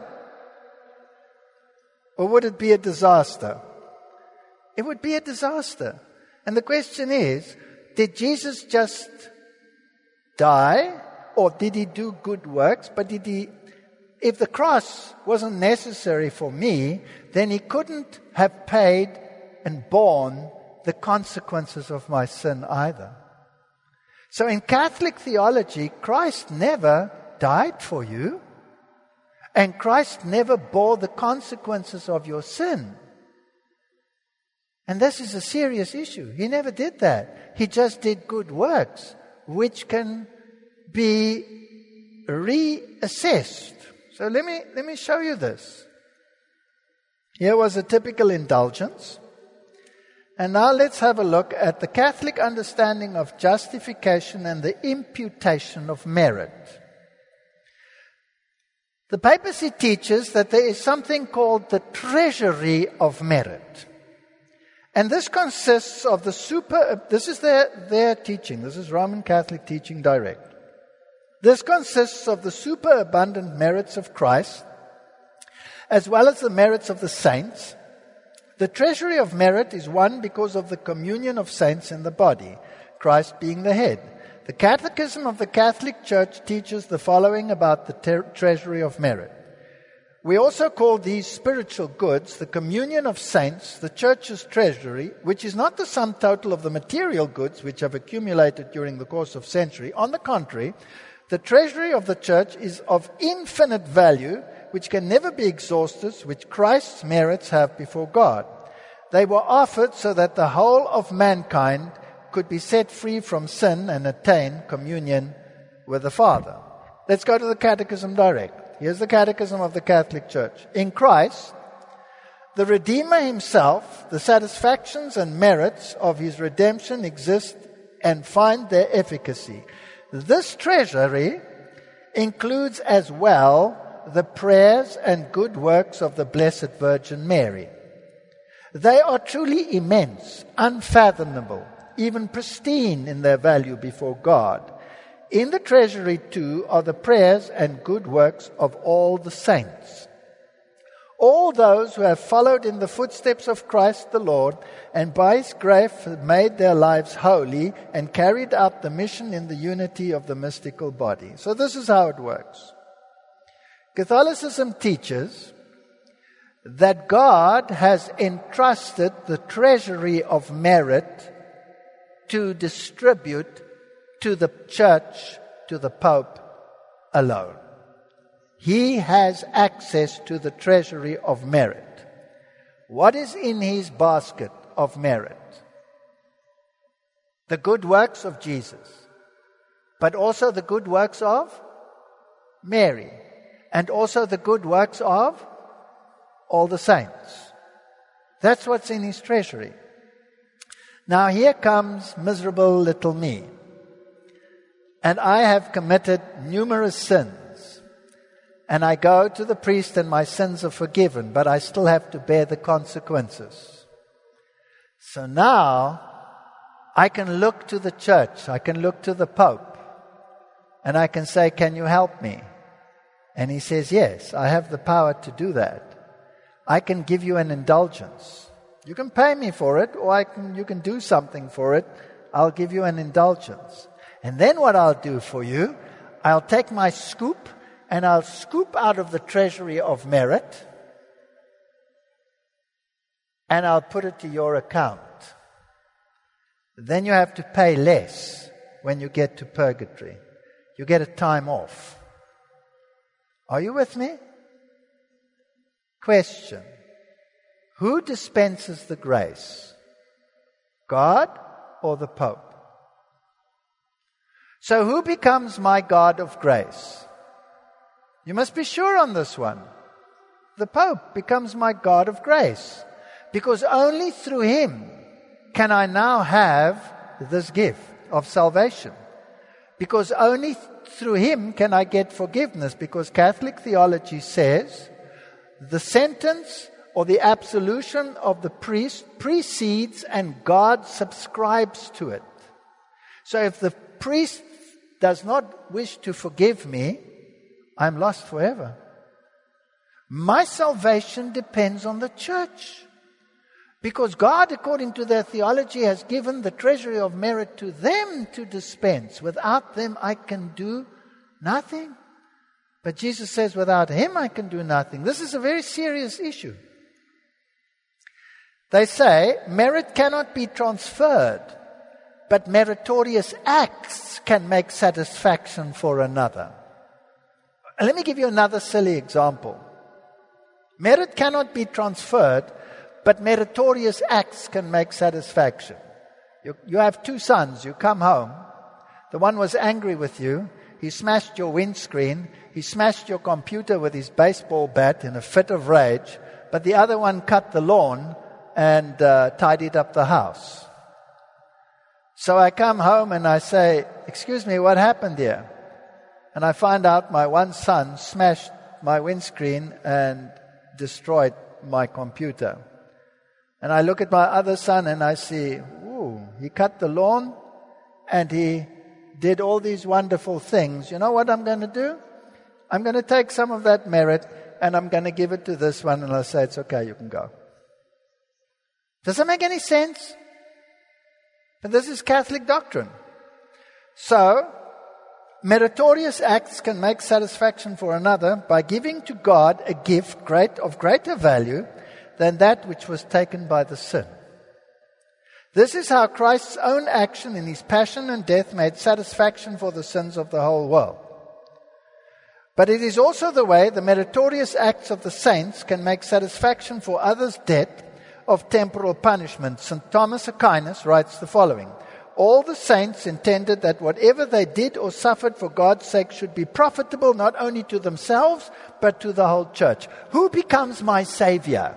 Or would it be a disaster? It would be a disaster. And the question is, did Jesus just die? Or did he do good works? But if the cross wasn't necessary for me, then he couldn't have paid and borne the consequences of my sin either. So in Catholic theology, Christ never died for you, and Christ never bore the consequences of your sin. And this is a serious issue. He never did that. He just did good works, which can be reassessed. So let me show you this. Here was a typical indulgence. And now let's have a look at the Catholic understanding of justification and the imputation of merit. The papacy teaches that there is something called the treasury of merit. And this consists of this is their teaching. This is Roman Catholic teaching direct. This consists of the superabundant merits of Christ, as well as the merits of the saints. The treasury of merit is one because of the communion of saints in the body, Christ being the head. The Catechism of the Catholic Church teaches the following about the treasury of merit. We also call these spiritual goods the communion of saints, the Church's treasury, which is not the sum total of the material goods which have accumulated during the course of centuries. On the contrary, the treasury of the Church is of infinite value, which can never be exhausted, which Christ's merits have before God. They were offered so that the whole of mankind could be set free from sin and attain communion with the Father. Let's go to the Catechism direct. Here's the Catechism of the Catholic Church. In Christ, the Redeemer himself, the satisfactions and merits of his redemption exist and find their efficacy. This treasury includes as well the prayers and good works of the Blessed Virgin Mary. They are truly immense, unfathomable, even pristine in their value before God. In the treasury, too, are the prayers and good works of all the saints. All those who have followed in the footsteps of Christ the Lord and by his grace have made their lives holy and carried out the mission in the unity of the mystical body. So this is how it works. Catholicism teaches that God has entrusted the treasury of merit to distribute to the Church, to the Pope alone. He has access to the treasury of merit. What is in his basket of merit? The good works of Jesus, but also the good works of Mary, and also the good works of all the saints. That's what's in his treasury. Now here comes miserable little me. and I have committed numerous sins, and I go to the priest and my sins are forgiven, but I still have to bear the consequences. So now I can look to the church, I can look to the Pope, and I can say, can you help me? And he says, yes, I have the power to do that. I can give you an indulgence. You can pay me for it, or you can do something for it. I'll give you an indulgence. And then what I'll do for you, I'll take my scoop and I'll scoop out of the treasury of merit and I'll put it to your account. Then you have to pay less when you get to purgatory. You get a time off. Are you with me? Question. Who dispenses the grace? God or the Pope? So who becomes my God of grace? You must be sure on this one. The Pope becomes my God of grace. Because only through him can I now have this gift of salvation. Because only through him can I get forgiveness. Because Catholic theology says the sentence or the absolution of the priest precedes and God subscribes to it. So if the priest does not wish to forgive me, I'm lost forever. My salvation depends on the church. Because God, according to their theology, has given the treasury of merit to them to dispense. Without them, I can do nothing. But Jesus says, without him, I can do nothing. This is a very serious issue. They say merit cannot be transferred, but meritorious acts can make satisfaction for another. Let me give you another silly example. Merit cannot be transferred, but meritorious acts can make satisfaction. You have two sons. You come home. The one was angry with you. He smashed your windscreen. He smashed your computer with his baseball bat in a fit of rage. But the other one cut the lawn and tidied up the house. So I come home and I say, excuse me, what happened here? And I find out my one son smashed my windscreen and destroyed my computer. And I look at my other son and I see, ooh, he cut the lawn and he did all these wonderful things. You know what I'm going to do? I'm going to take some of that merit and I'm going to give it to this one and I'll say, it's okay, you can go. Does that make any sense? And this is Catholic doctrine. So, meritorious acts can make satisfaction for another by giving to God a gift of greater value than that which was taken by the sin. This is how Christ's own action in his passion and death made satisfaction for the sins of the whole world. But it is also the way the meritorious acts of the saints can make satisfaction for others' debt of temporal punishment. St. Thomas Aquinas writes the following: all the saints intended that whatever they did or suffered for God's sake should be profitable not only to themselves, but to the whole church. Who becomes my Savior?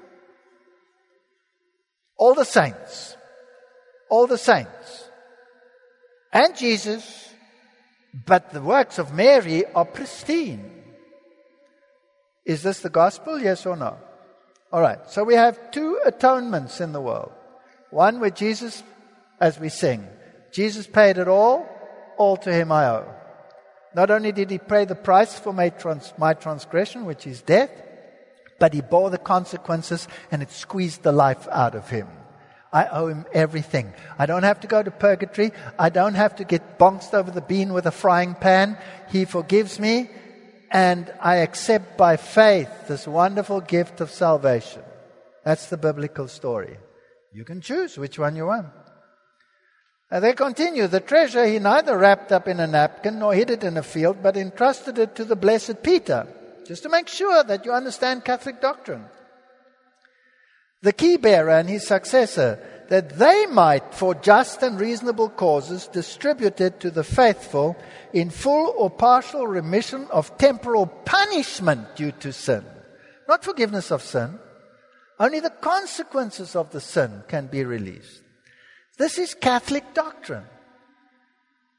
All the saints. All the saints. And Jesus. But the works of Mary are pristine. Is this the gospel? Yes or no? All right. So we have two atonements in the world. One where Jesus, as we sing, Jesus paid it all to him I owe. Not only did he pay the price for my transgression, which is death, but he bore the consequences and it squeezed the life out of him. I owe him everything. I don't have to go to purgatory. I don't have to get bonked over the bean with a frying pan. He forgives me and I accept by faith this wonderful gift of salvation. That's the biblical story. You can choose which one you want. And they continue, the treasure he neither wrapped up in a napkin nor hid it in a field, but entrusted it to the blessed Peter, just to make sure that you understand Catholic doctrine. The key bearer and his successor, that they might, for just and reasonable causes, distribute it to the faithful in full or partial remission of temporal punishment due to sin. Not forgiveness of sin. Only the consequences of the sin can be released. This is Catholic doctrine.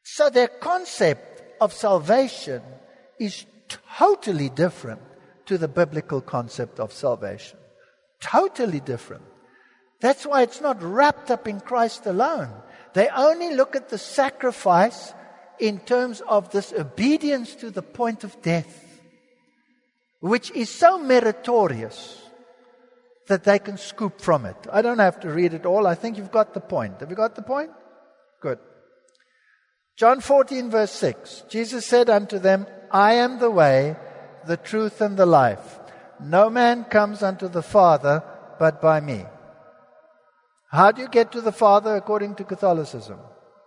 So their concept of salvation is totally different to the biblical concept of salvation. Totally different. That's why it's not wrapped up in Christ alone. They only look at the sacrifice in terms of this obedience to the point of death, which is so meritorious that they can scoop from it. I don't have to read it all. I think you've got the point. Have you got the point? Good. John 14, verse 6. Jesus said unto them, I am the way, the truth, and the life. No man comes unto the Father but by me. How do you get to the Father according to Catholicism?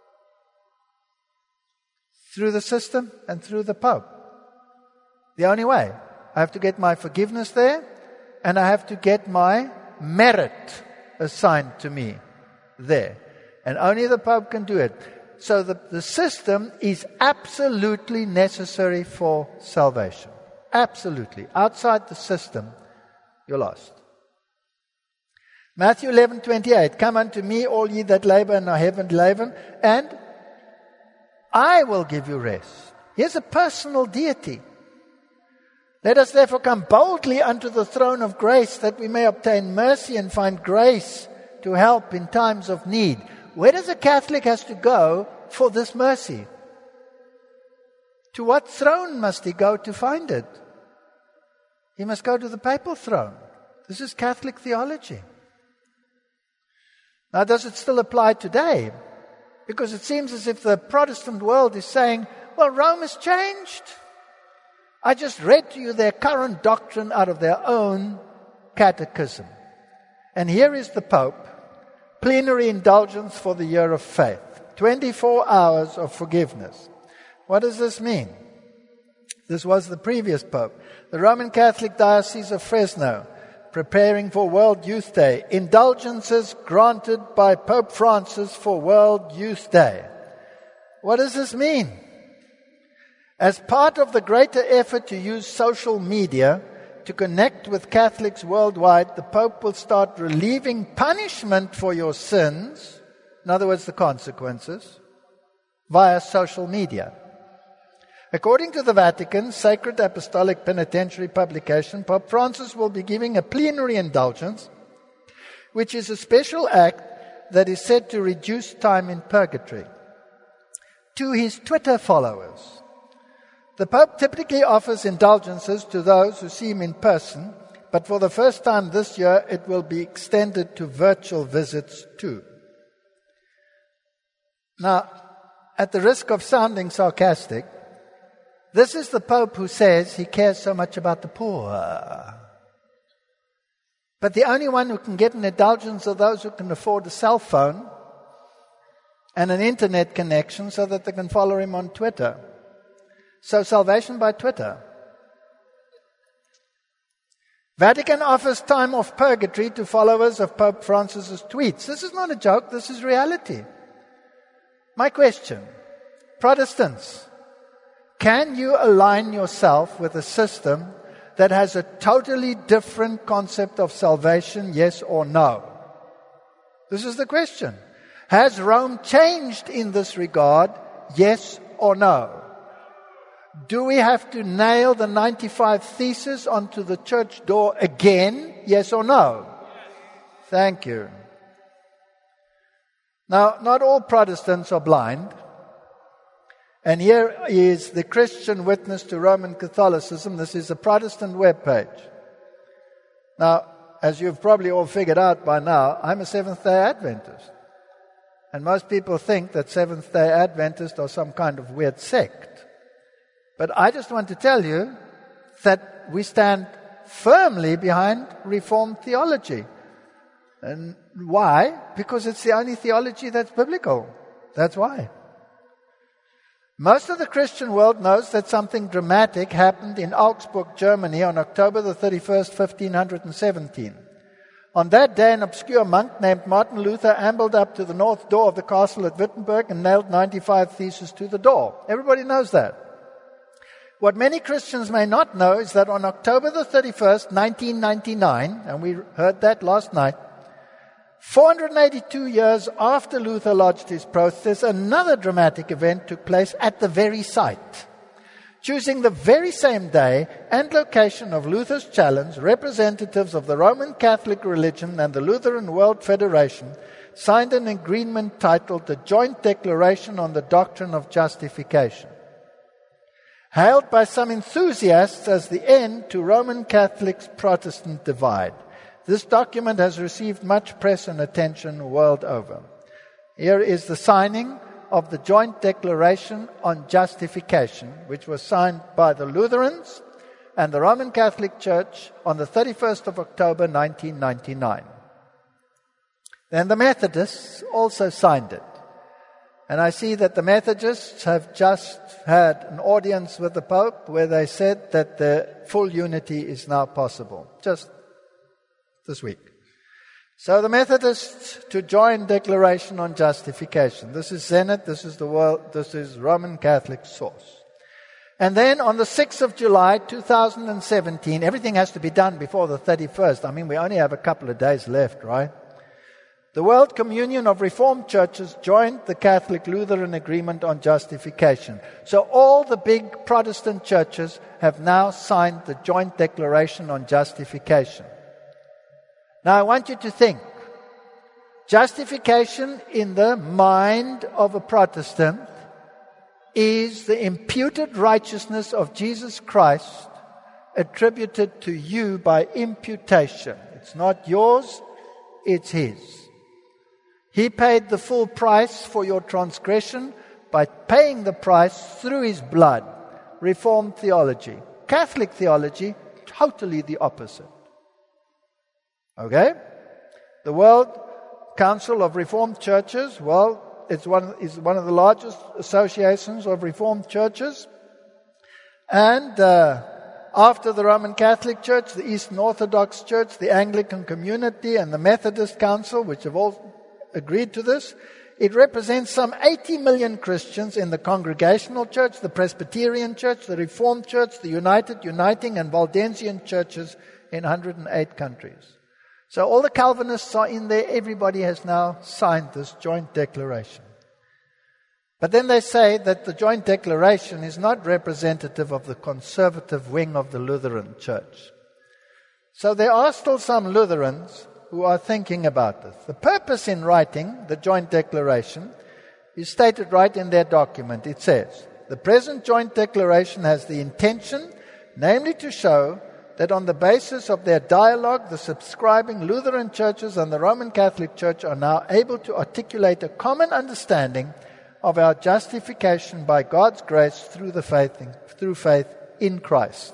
Through the system and through the Pope. The only way. I have to get my forgiveness there, and I have to get my merit assigned to me there. And only the Pope can do it. So the system is absolutely necessary for salvation. Absolutely. Outside the system, you're lost. Matthew 11:28. Come unto me, all ye that labor and are heavy laden, and I will give you rest. Here's a personal deity. Let us therefore come boldly unto the throne of grace, that we may obtain mercy and find grace to help in times of need. Where does a Catholic has to go for this mercy? To what throne must he go to find it? He must go to the papal throne. This is Catholic theology. Now, does it still apply today? Because it seems as if the Protestant world is saying, well, Rome has changed. I just read to you their current doctrine out of their own catechism. And here is the Pope. Plenary indulgence for the year of faith. 24 hours of forgiveness. What does this mean? This was the previous Pope. The Roman Catholic Diocese of Fresno, preparing for World Youth Day. Indulgences granted by Pope Francis for World Youth Day. What does this mean? As part of the greater effort to use social media to connect with Catholics worldwide, the Pope will start relieving punishment for your sins, in other words, the consequences, via social media. According to the Vatican Sacred Apostolic Penitentiary publication, Pope Francis will be giving a plenary indulgence, which is a special act that is said to reduce time in purgatory. To his Twitter followers, the Pope typically offers indulgences to those who see him in person, but for the first time this year, it will be extended to virtual visits too. Now, at the risk of sounding sarcastic, this is the Pope who says he cares so much about the poor. But the only one who can get an indulgence are those who can afford a cell phone and an internet connection so that they can follow him on Twitter. So salvation by Twitter. Vatican offers time off purgatory to followers of Pope Francis's tweets. This is not a joke, this is reality. My question, Protestants, can you align yourself with a system that has a totally different concept of salvation, yes or no? This is the question. Has Rome changed in this regard, yes or no? Do we have to nail the 95 Theses onto the church door again, yes or no? Thank you. Now, not all Protestants are blind. And here is the Christian Witness to Roman Catholicism. This is a Protestant webpage. Now, as you've probably all figured out by now, I'm a Seventh-day Adventist. And most people think that Seventh-day Adventists are some kind of weird sect. But I just want to tell you that we stand firmly behind Reformed theology. And why? Because it's the only theology that's biblical. That's why. Most of the Christian world knows that something dramatic happened in Augsburg, Germany on October the 31st, 1517. On that day, an obscure monk named Martin Luther ambled up to the north door of the castle at Wittenberg and nailed 95 Theses to the door. Everybody knows that. What many Christians may not know is that on October the 31st, 1999, and we heard that last night, 482 years after Luther lodged his protest, another dramatic event took place at the very site. Choosing the very same day and location of Luther's challenge, representatives of the Roman Catholic religion and the Lutheran World Federation signed an agreement titled the Joint Declaration on the Doctrine of Justification. Hailed by some enthusiasts as the end to Roman Catholics' Protestant divide, this document has received much press and attention world over. Here is the signing of the Joint Declaration on Justification, which was signed by the Lutherans and the Roman Catholic Church on the 31st of October 1999. Then the Methodists also signed it. And I see that the Methodists have just had an audience with the Pope where they said that the full unity is now possible, just this week. So the Methodists to join Declaration on Justification. This is Zenit, this is Roman Catholic source. And then on the 6th of July 2017, everything has to be done before the 31st. I mean, we only have a couple of days left, right? The World Communion of Reformed Churches joined the Catholic Lutheran Agreement on Justification. So all the big Protestant churches have now signed the Joint Declaration on Justification. Now I want you to think. Justification in the mind of a Protestant is the imputed righteousness of Jesus Christ attributed to you by imputation. It's not yours, it's His. He paid the full price for your transgression by paying the price through His blood. Reformed theology. Catholic theology, totally the opposite. Okay? The World Council of Reformed Churches, well, is one of the largest associations of Reformed churches. And after the Roman Catholic Church, the Eastern Orthodox Church, the Anglican Community, and the Methodist Council, which have all agreed to this, it represents some 80 million Christians in the Congregational Church, the Presbyterian Church, the Reformed Church, the United, Uniting, and Waldensian churches in 108 countries. So all the Calvinists are in there. Everybody has now signed this joint declaration. But then they say that the joint declaration is not representative of the conservative wing of the Lutheran Church. So there are still some Lutherans who are thinking about this. The purpose in writing the joint declaration is stated right in their document. It says, the present joint declaration has the intention, namely to show that on the basis of their dialogue, the subscribing Lutheran churches and the Roman Catholic Church are now able to articulate a common understanding of our justification by God's grace through faith in Christ.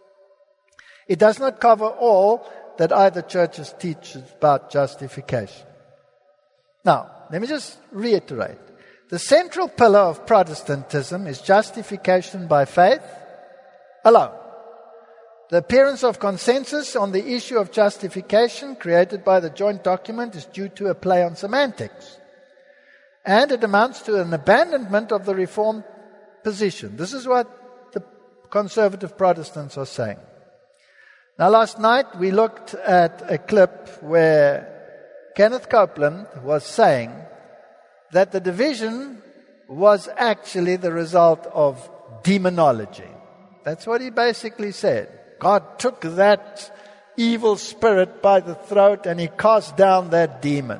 It does not cover all that either churches teach about justification. Now, let me just reiterate. The central pillar of Protestantism is justification by faith alone. The appearance of consensus on the issue of justification created by the joint document is due to a play on semantics. And it amounts to an abandonment of the Reformed position. This is what the conservative Protestants are saying. Now, last night we looked at a clip where Kenneth Copeland was saying that the division was actually the result of demonology. That's what he basically said. God took that evil spirit by the throat and He cast down that demon.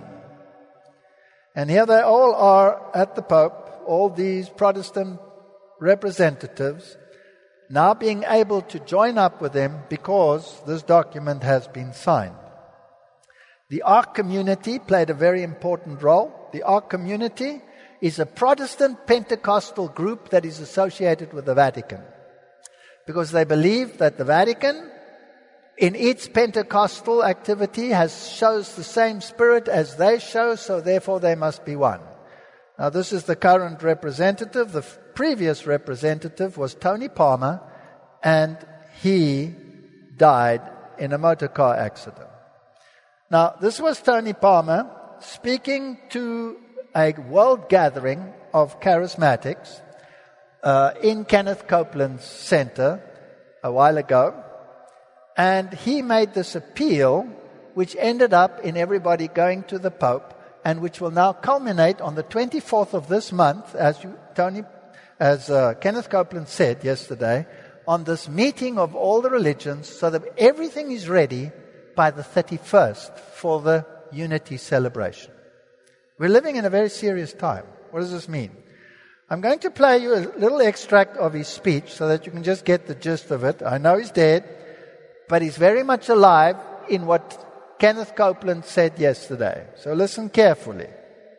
And here they all are at the Pope, all these Protestant representatives, now being able to join up with them because this document has been signed. The Ark community played a very important role. The Ark community is a Protestant Pentecostal group that is associated with the Vatican, because they believe that the Vatican, in its Pentecostal activity, shows the same spirit as they show, so therefore they must be one. Now, this is the current representative. The previous representative was Tony Palmer, and he died in a motor car accident. Now, this was Tony Palmer speaking to a world gathering of charismatics in Kenneth Copeland's center a while ago. And he made this appeal which ended up in everybody going to the Pope, and which will now culminate on the 24th of this month, as Kenneth Copeland said yesterday, on this meeting of all the religions, so that everything is ready by the 31st for the unity celebration. We're living in a very serious time. What does this mean? I'm going to play you a little extract of his speech so that you can just get the gist of it. I know he's dead, but he's very much alive in what Kenneth Copeland said yesterday. So listen carefully.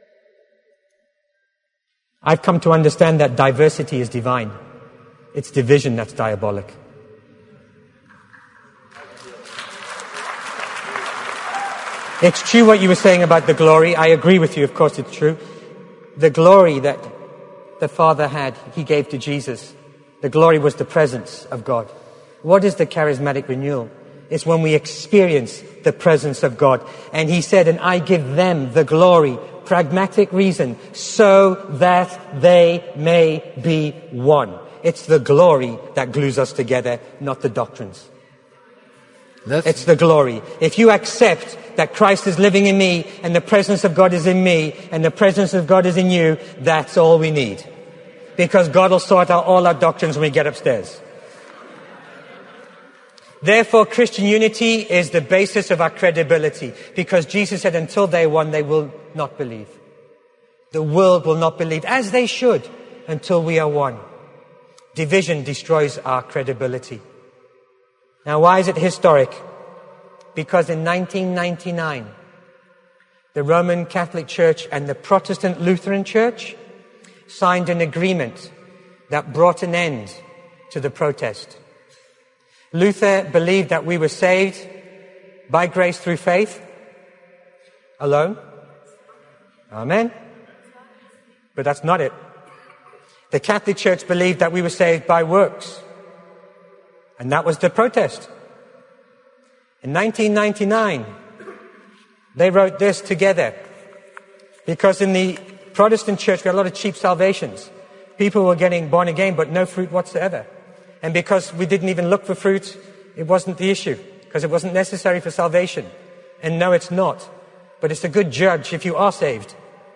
I've come to understand that diversity is divine. It's division that's diabolic. It's true what you were saying about the glory. I agree with you, of course it's true. The glory that the Father had, He gave to Jesus. The glory was the presence of God. What is the charismatic renewal? It's when we experience the presence of God. And He said, and I give them the glory, pragmatic reason, so that they may be one. It's the glory that glues us together, not the doctrines. It's the glory. If you accept that Christ is living in me and the presence of God is in me and the presence of God is in you, that's all we need. Because God will sort out all our doctrines when we get upstairs. Therefore, Christian unity is the basis of our credibility. Because Jesus said until they one, they will not believe. The world will not believe, as they should, until we are one. Division destroys our credibility. Now, why is it historic? Because in 1999, the Roman Catholic Church and the Protestant Lutheran Church signed an agreement that brought an end to the protest. Luther believed that we were saved by grace through faith alone. Amen. But that's not it. The Catholic Church believed that we were saved by works. And that was the protest. In 1999, they wrote this together. Because in the Protestant church, we had a lot of cheap salvations. People were getting born again, but no fruit whatsoever. And because we didn't even look for fruit, it wasn't the issue. Because it wasn't necessary for salvation. And no, it's not. But it's a good judge if you are saved.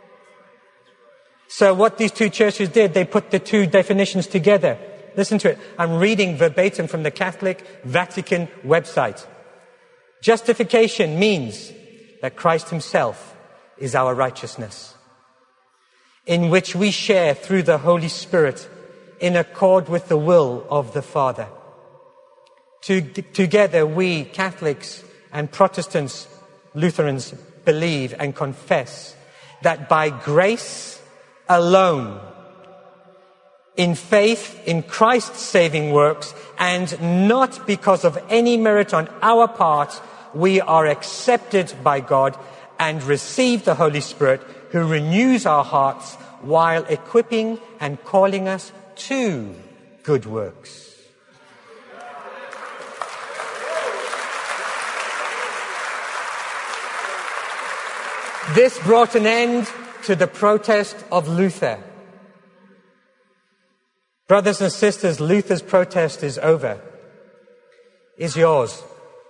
So what these two churches did, they put the two definitions together. Listen to it. I'm reading verbatim from the Catholic Vatican website. Justification means that Christ Himself is our righteousness, in which we share through the Holy Spirit in accord with the will of the Father. Together we, Catholics and Protestants, Lutherans, believe and confess that by grace alone, in faith in Christ's saving works, and not because of any merit on our part, we are accepted by God and receive the Holy Spirit, who renews our hearts while equipping and calling us to good works. This brought an end to the protest of Luther. Brothers and sisters, Luther's protest is over. Is yours.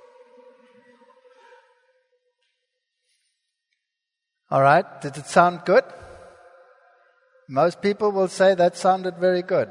All right. Did it sound good? Most people will say that sounded very good.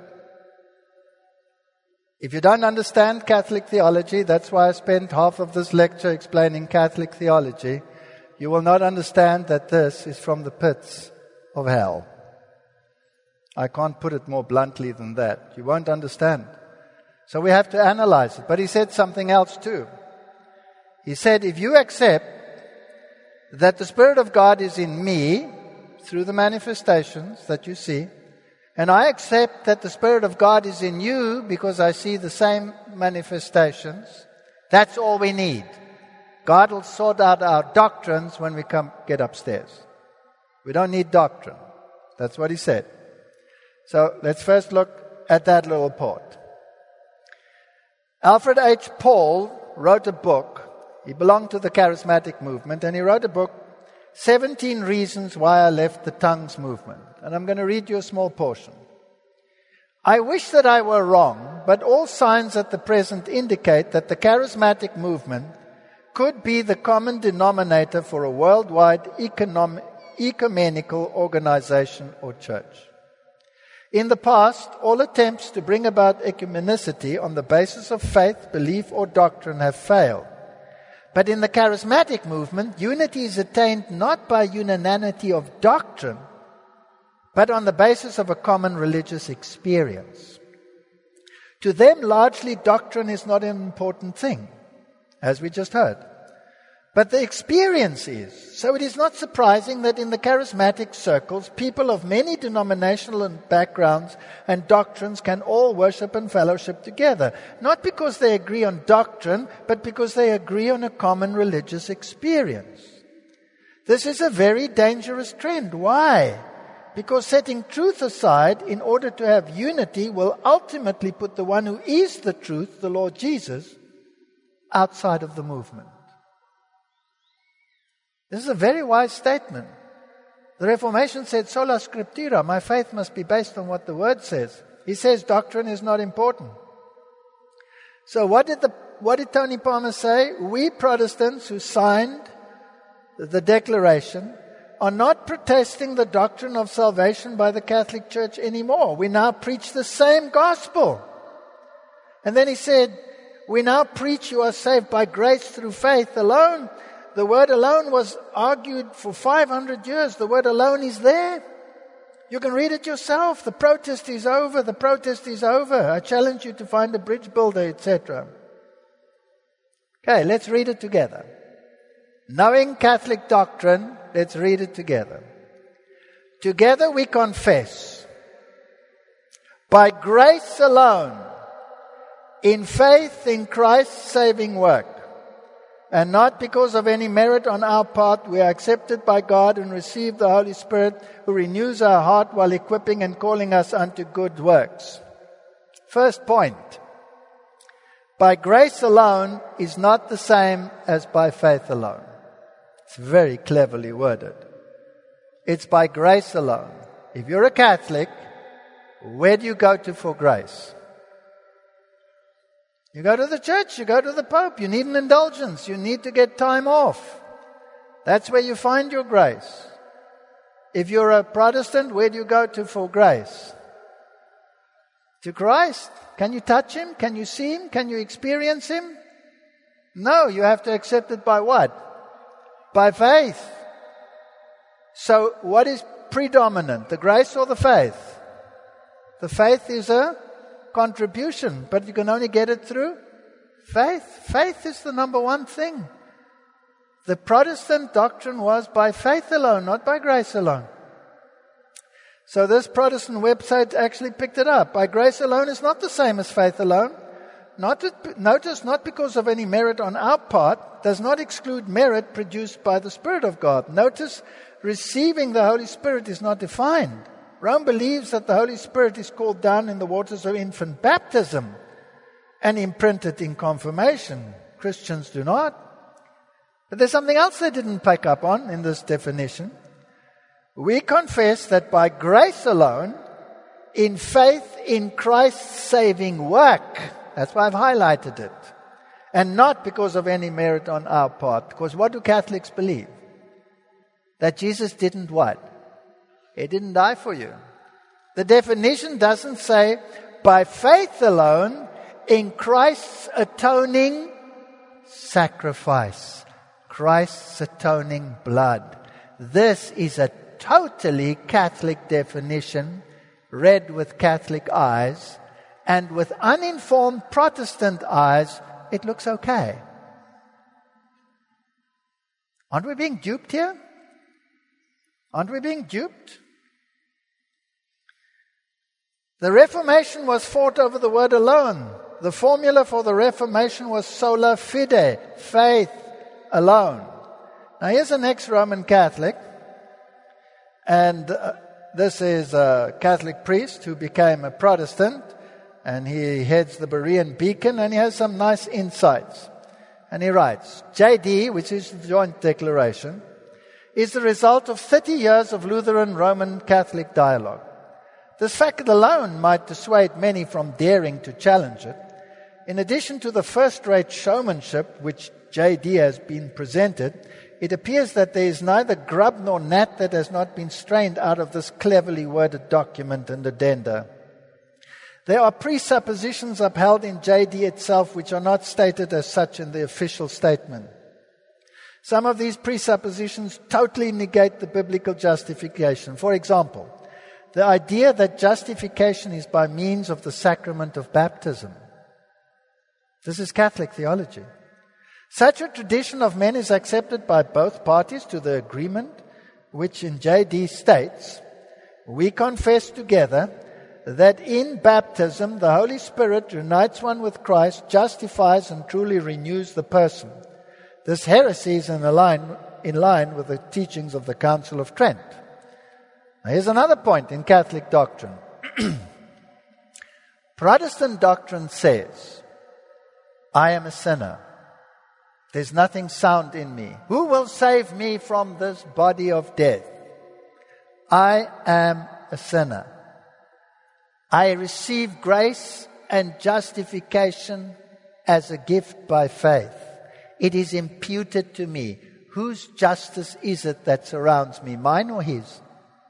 If you don't understand Catholic theology, that's why I spent half of this lecture explaining Catholic theology, you will not understand that this is from the pits of hell. I can't put it more bluntly than that. You won't understand. So we have to analyze it. But he said something else too. He said, if you accept that the Spirit of God is in me through the manifestations that you see, and I accept that the Spirit of God is in you because I see the same manifestations, that's all we need. God will sort out our doctrines when we get upstairs. We don't need doctrine. That's what he said. So let's first look at that little part. Alfred H. Paul wrote a book. He belonged to the charismatic movement, and he wrote a book, 17 Reasons Why I Left the Tongues Movement. And I'm going to read you a small portion. I wish that I were wrong, but all signs at the present indicate that the charismatic movement could be the common denominator for a worldwide ecumenical organization or church. In the past, all attempts to bring about ecumenicity on the basis of faith, belief, or doctrine have failed. But in the charismatic movement, unity is attained not by unanimity of doctrine, but on the basis of a common religious experience. To them, largely, doctrine is not an important thing, as we just heard. But the experience is. So it is not surprising that in the charismatic circles, people of many denominational backgrounds and doctrines can all worship and fellowship together. Not because they agree on doctrine, but because they agree on a common religious experience. This is a very dangerous trend. Why? Because setting truth aside in order to have unity will ultimately put the one who is the truth, the Lord Jesus, outside of the movement. This is a very wise statement. The Reformation said, sola scriptura, my faith must be based on what the Word says. He says doctrine is not important. So what did Tony Palmer say? We Protestants who signed the Declaration are not protesting the doctrine of salvation by the Catholic Church anymore. We now preach the same gospel. And then he said, we now preach you are saved by grace through faith alone. The word alone was argued for 500 years. The word alone is there. You can read it yourself. The protest is over. The protest is over. I challenge you to find a bridge builder, etc. Okay, let's read it together. Knowing Catholic doctrine, let's read it together. Together we confess, by grace alone, in faith in Christ's saving work, and not because of any merit on our part, we are accepted by God and receive the Holy Spirit who renews our heart while equipping and calling us unto good works. First point. By grace alone is not the same as by faith alone. It's very cleverly worded. It's by grace alone. If you're a Catholic, where do you go to for grace? You go to the church, you go to the Pope, you need an indulgence, you need to get time off. That's where you find your grace. If you're a Protestant, where do you go to for grace? To Christ. Can you touch Him? Can you see Him? Can you experience Him? No, you have to accept it by what? By faith. So what is predominant, the grace or the faith? The faith is a contribution, but you can only get it through faith. Faith is the number one thing. The Protestant doctrine was by faith alone, not by grace alone. So this Protestant website actually picked it up. By grace alone is not the same as faith alone. Notice, not because of any merit on our part, does not exclude merit produced by the Spirit of God. Notice, receiving the Holy Spirit is not defined. Rome believes that the Holy Spirit is called down in the waters of infant baptism and imprinted in confirmation. Christians do not. But there's something else they didn't pick up on in this definition. We confess that by grace alone, in faith in Christ's saving work, that's why I've highlighted it, and not because of any merit on our part. Because what do Catholics believe? That Jesus didn't what? He didn't die for you. The definition doesn't say, by faith alone, in Christ's atoning sacrifice, Christ's atoning blood. This is a totally Catholic definition, read with Catholic eyes, and with uninformed Protestant eyes, it looks okay. Aren't we being duped here? Aren't we being duped? The Reformation was fought over the word alone. The formula for the Reformation was sola fide, faith alone. Now here's an ex-Roman Catholic, and this is a Catholic priest who became a Protestant, and he heads the Berean Beacon, and he has some nice insights. And he writes, JD, which is the Joint Declaration, is the result of 30 years of Lutheran Roman Catholic dialogue. This fact alone might dissuade many from daring to challenge it. In addition to the first-rate showmanship which J.D. has been presented, it appears that there is neither grub nor gnat that has not been strained out of this cleverly worded document and addenda. There are presuppositions upheld in J.D. itself which are not stated as such in the official statement. Some of these presuppositions totally negate the biblical justification. For example, the idea that justification is by means of the sacrament of baptism. This is Catholic theology. Such a tradition of men is accepted by both parties to the agreement, which in J.D. states, "We confess together that in baptism the Holy Spirit unites one with Christ, justifies and truly renews the person." This heresy is in line with the teachings of the Council of Trent. Now here's another point in Catholic doctrine. Protestant doctrine says, "I am a sinner. There's nothing sound in me. Who will save me from this body of death? I am a sinner. I receive grace and justification as a gift by faith. It is imputed to me." Whose justice is it that surrounds me? Mine or his?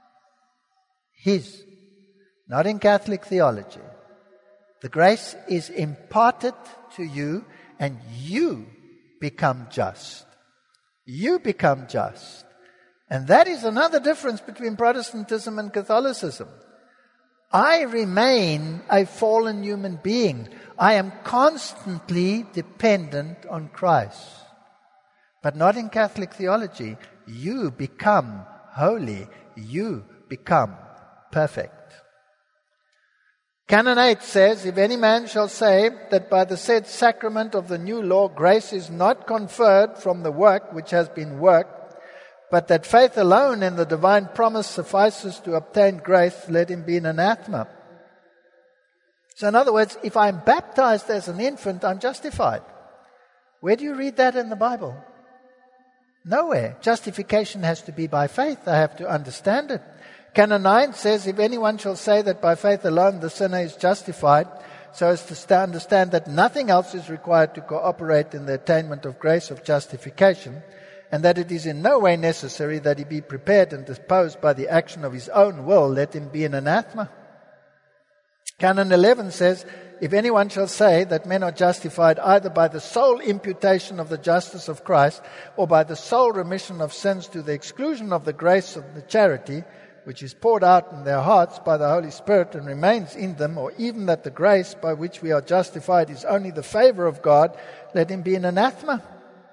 His. Not in Catholic theology. The grace is imparted to you and you become just. You become just. And that is another difference between Protestantism and Catholicism. I remain a fallen human being. I am constantly dependent on Christ. But not in Catholic theology. You become holy. You become perfect. Canon 8 says, "If any man shall say that by the said sacrament of the new law grace is not conferred from the work which has been worked, but that faith alone in the divine promise suffices to obtain grace, let him be an anathema." So in other words, if I'm baptized as an infant, I'm justified. Where do you read that in the Bible? Nowhere. Justification has to be by faith. I have to understand it. Canon 9 says, "If anyone shall say that by faith alone the sinner is justified, so as to understand that nothing else is required to cooperate in the attainment of grace of justification, and that it is in no way necessary that he be prepared and disposed by the action of his own will, let him be an anathema." Canon 11 says, "If anyone shall say that men are justified either by the sole imputation of the justice of Christ or by the sole remission of sins to the exclusion of the grace of the charity, which is poured out in their hearts by the Holy Spirit and remains in them, or even that the grace by which we are justified is only the favor of God, let him be an anathema."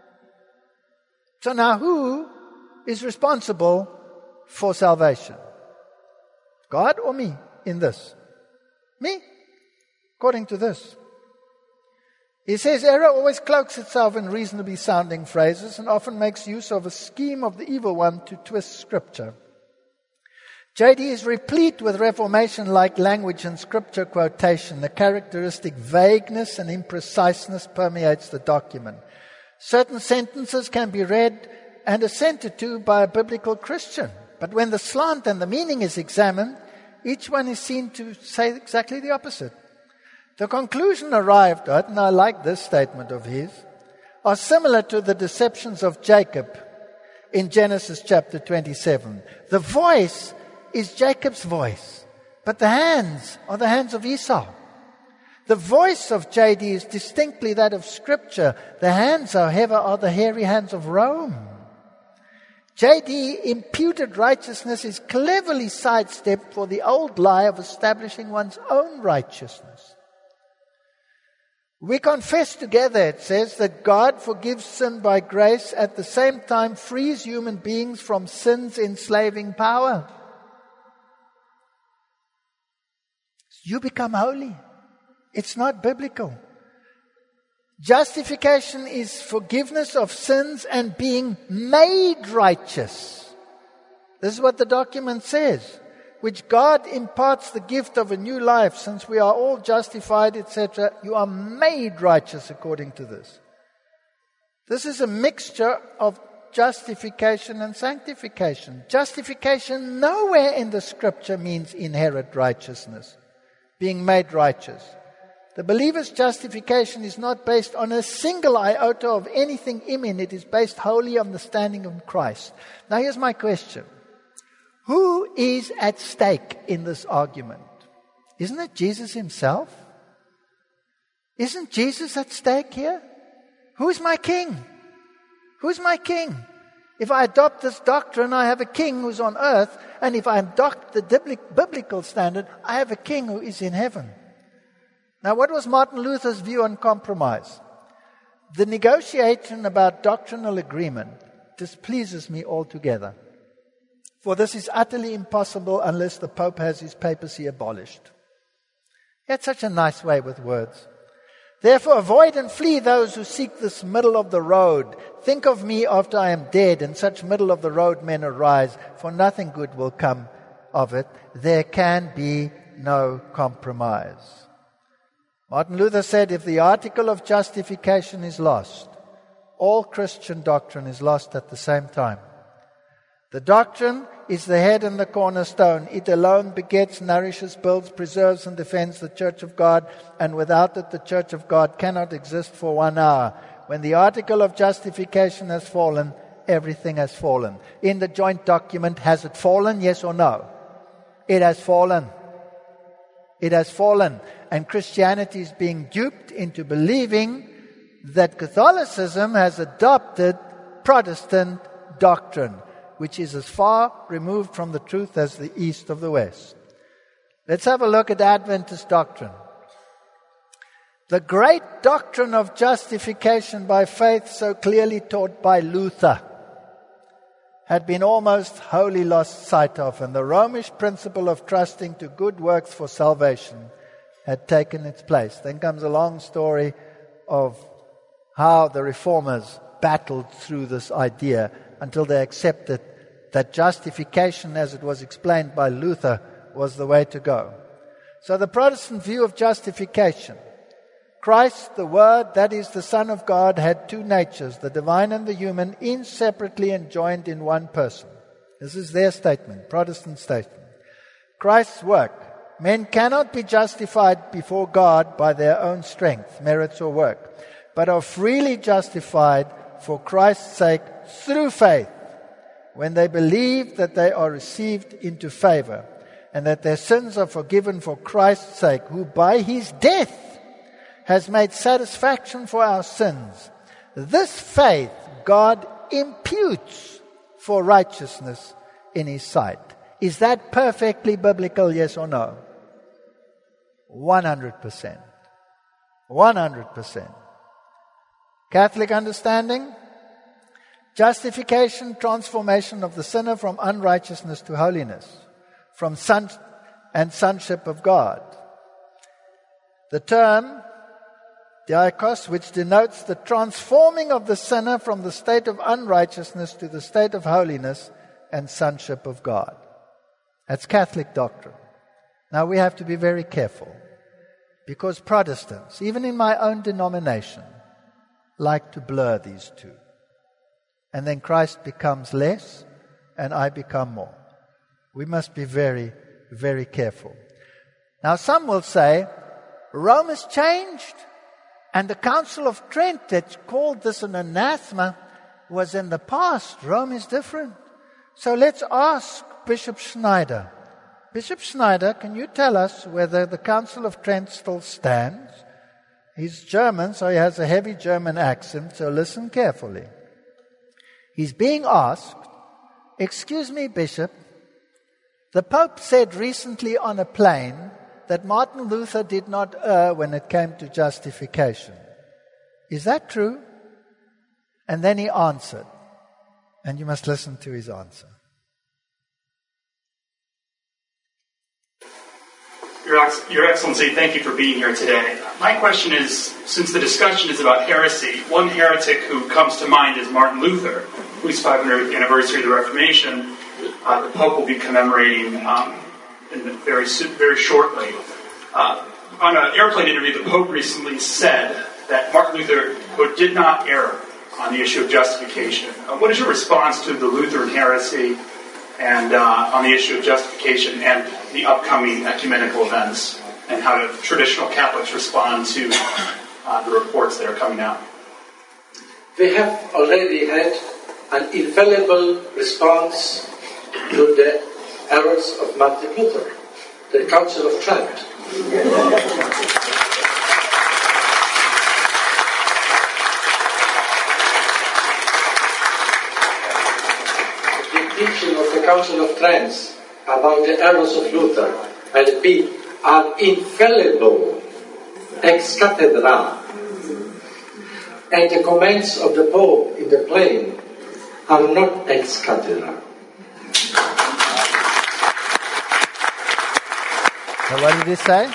So now who is responsible for salvation? God or me in this? Me, according to this. He says, "Error always cloaks itself in reasonably sounding phrases and often makes use of a scheme of the evil one to twist Scripture." J.D. is replete with Reformation-like language and Scripture quotation. The characteristic vagueness and impreciseness permeates the document. Certain sentences can be read and assented to by a biblical Christian. But when the slant and the meaning is examined, each one is seen to say exactly the opposite. The conclusion arrived at, and I like this statement of his, are similar to the deceptions of Jacob in Genesis chapter 27. The voice is Jacob's voice, but the hands are the hands of Esau. The voice of J.D. is distinctly that of Scripture. The hands, however, are the hairy hands of Rome. J.D. imputed righteousness is cleverly sidestepped for the old lie of establishing one's own righteousness. We confess together, it says, that God forgives sin by grace, at the same time frees human beings from sin's enslaving power. You become holy. It's not biblical. Justification is forgiveness of sins and being made righteous. This is what the document says, which God imparts the gift of a new life. Since we are all justified, etc., you are made righteous according to this. This is a mixture of justification and sanctification. Justification nowhere in the Scripture means inherent righteousness, being made righteous. The believer's justification is not based on a single iota of anything in him. It is based wholly on the standing of Christ. Now here's my question. Who is at stake in this argument? Isn't it Jesus himself? Isn't Jesus at stake here? Who's my king? Who's my king? If I adopt this doctrine, I have a king who's on earth. And if I adopt the biblical standard, I have a king who is in heaven. Now, what was Martin Luther's view on compromise? The negotiation about doctrinal agreement displeases me altogether. For this is utterly impossible unless the Pope has his papacy abolished. He had such a nice way with words. Therefore, avoid and flee those who seek this middle of the road. Think of me after I am dead, and such middle of the road men arise, for nothing good will come of it. There can be no compromise. Martin Luther said, if the article of justification is lost, all Christian doctrine is lost at the same time. The doctrine is the head and the cornerstone. It alone begets, nourishes, builds, preserves, and defends the church of God, and without it the church of God cannot exist for 1 hour. When the article of justification has fallen, everything has fallen. In the joint document, has it fallen, yes or no? It has fallen. It has fallen. And Christianity is being duped into believing that Catholicism has adopted Protestant doctrine, which is as far removed from the truth as the east of the west. Let's have a look at Adventist doctrine. The great doctrine of justification by faith, so clearly taught by Luther, had been almost wholly lost sight of, and the Romish principle of trusting to good works for salvation had taken its place. Then comes a long story of how the reformers battled through this idea until they accepted that justification, as it was explained by Luther, was the way to go. So the Protestant view of justification, Christ, the Word, that is the Son of God, had two natures, the divine and the human, inseparably and joined in one person. This is their statement, Protestant statement. Christ's work. Men cannot be justified before God by their own strength, merits, or work, but are freely justified for Christ's sake through faith, when they believe that they are received into favor and that their sins are forgiven for Christ's sake, who by his death has made satisfaction for our sins. This faith God imputes for righteousness in his sight. Is that perfectly biblical, yes or no? 100%. 100%. Catholic understanding? Justification, transformation of the sinner from unrighteousness to holiness, from son and sonship of God. The term diakos, which denotes the transforming of the sinner from the state of unrighteousness to the state of holiness and sonship of God. That's Catholic doctrine. Now we have to be very careful, because Protestants, even in my own denomination, like to blur these two. And then Christ becomes less and I become more. We must be very, very careful. Now some will say, Rome has changed, and the Council of Trent that called this an anathema was in the past. Rome is different. So let's ask Bishop Schneider. Bishop Schneider, can you tell us whether the Council of Trent still stands? He's German, so he has a heavy German accent, so listen carefully. He's being asked, excuse me, Bishop, the Pope said recently on a plane that Martin Luther did not err when it came to justification. Is that true? And then he answered, and you must listen to his answer. Your Excellency, thank you for being here today. My question is, since the discussion is about heresy, one heretic who comes to mind is Martin Luther, whose 500th anniversary of the Reformation the Pope will be commemorating very shortly. On an airplane interview, the Pope recently said that Martin Luther, quote, did not err on the issue of justification. What is your response to the Lutheran heresy and on the issue of justification and the upcoming ecumenical events? and how do traditional Catholics respond to the reports that are coming out? We have already had an infallible response to the errors of Martin Luther, the Council of Trent. The teaching of the Council of Trent about the errors of Luther are infallible, ex cathedra, and the comments of the Pope in the plain are not ex cathedra. So what did he say?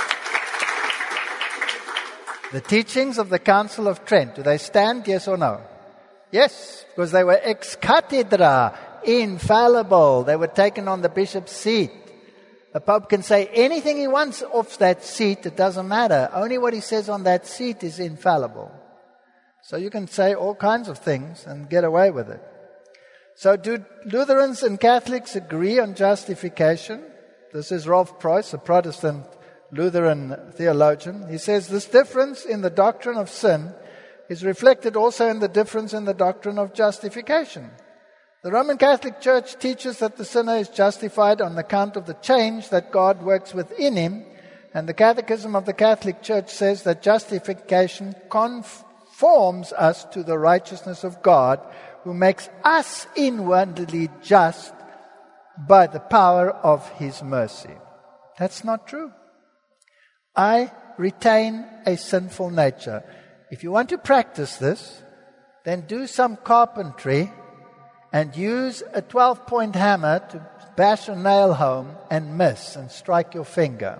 The teachings of the Council of Trent, do they stand, yes or no? Yes, because they were ex cathedra, infallible. They were taken on the bishop's seat. The Pope can say anything he wants off that seat, it doesn't matter. Only what he says on that seat is infallible. So you can say all kinds of things and get away with it. So do Lutherans and Catholics agree on justification? This is Rolf Preuss, a Protestant Lutheran theologian. He says this difference in the doctrine of sin is reflected also in the difference in the doctrine of justification. The Roman Catholic Church teaches that the sinner is justified on account of the change that God works within him, and the Catechism of the Catholic Church says that justification conforms us to the righteousness of God, who makes us inwardly just by the power of His mercy. That's not true. I retain a sinful nature. If you want to practice this, then do some carpentry and use a 12-point hammer to bash a nail home and miss and strike your finger.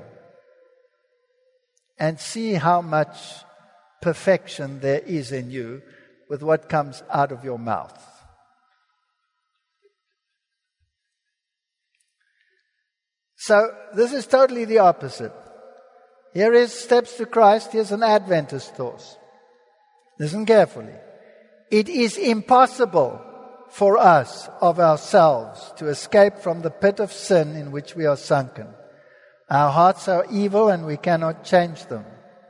And see how much perfection there is in you with what comes out of your mouth. So this is totally the opposite. Here is steps to Christ. Here's an Adventist thought. Listen carefully. It is impossible for us of ourselves to escape from the pit of sin in which we are sunken. Our hearts are evil and we cannot change them.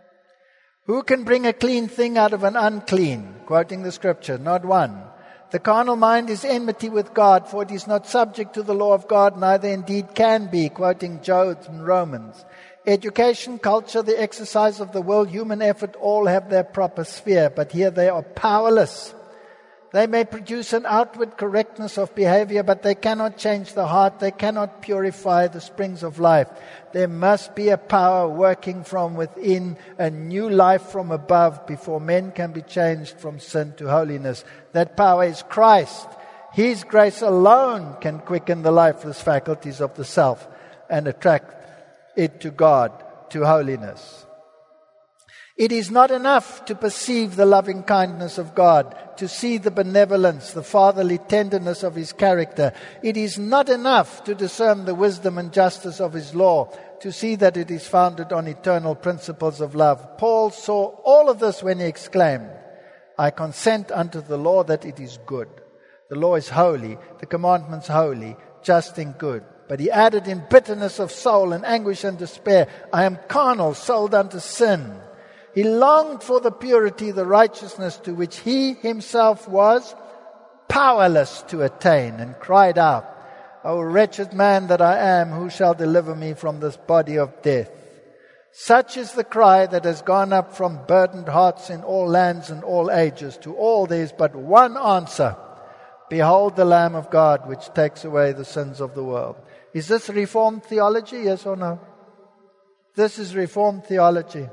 Who can bring a clean thing out of an unclean? Quoting the scripture, not one. The carnal mind is enmity with God, for it is not subject to the law of God, neither indeed can be, quoting Job and Romans. Education, culture, the exercise of the will, human effort, all have their proper sphere, but here they are powerless. They may produce an outward correctness of behavior, but they cannot change the heart. They cannot purify the springs of life. There must be a power working from within, a new life from above, before men can be changed from sin to holiness. That power is Christ. His grace alone can quicken the lifeless faculties of the self and attract it to God, to holiness. It is not enough to perceive the loving kindness of God, to see the benevolence, the fatherly tenderness of His character. It is not enough to discern the wisdom and justice of His law, to see that it is founded on eternal principles of love. Paul saw all of this when he exclaimed, I consent unto the law that it is good. The law is holy, the commandments holy, just and good. But he added in bitterness of soul and anguish and despair, I am carnal, sold unto sin. He longed for the purity, the righteousness to which he himself was powerless to attain, and cried out, O wretched man that I am, who shall deliver me from this body of death? Such is the cry that has gone up from burdened hearts in all lands and all ages. To all there is but one answer. Behold the Lamb of God, which takes away the sins of the world. Is this Reformed theology, yes or no? This is Reformed theology.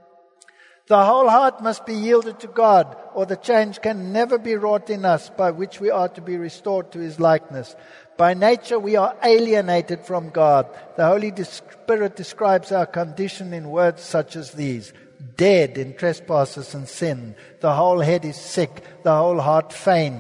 The whole heart must be yielded to God, or the change can never be wrought in us by which we are to be restored to His likeness. By nature we are alienated from God. The Holy Spirit describes our condition in words such as these. Dead in trespasses and sin. The whole head is sick. The whole heart faint.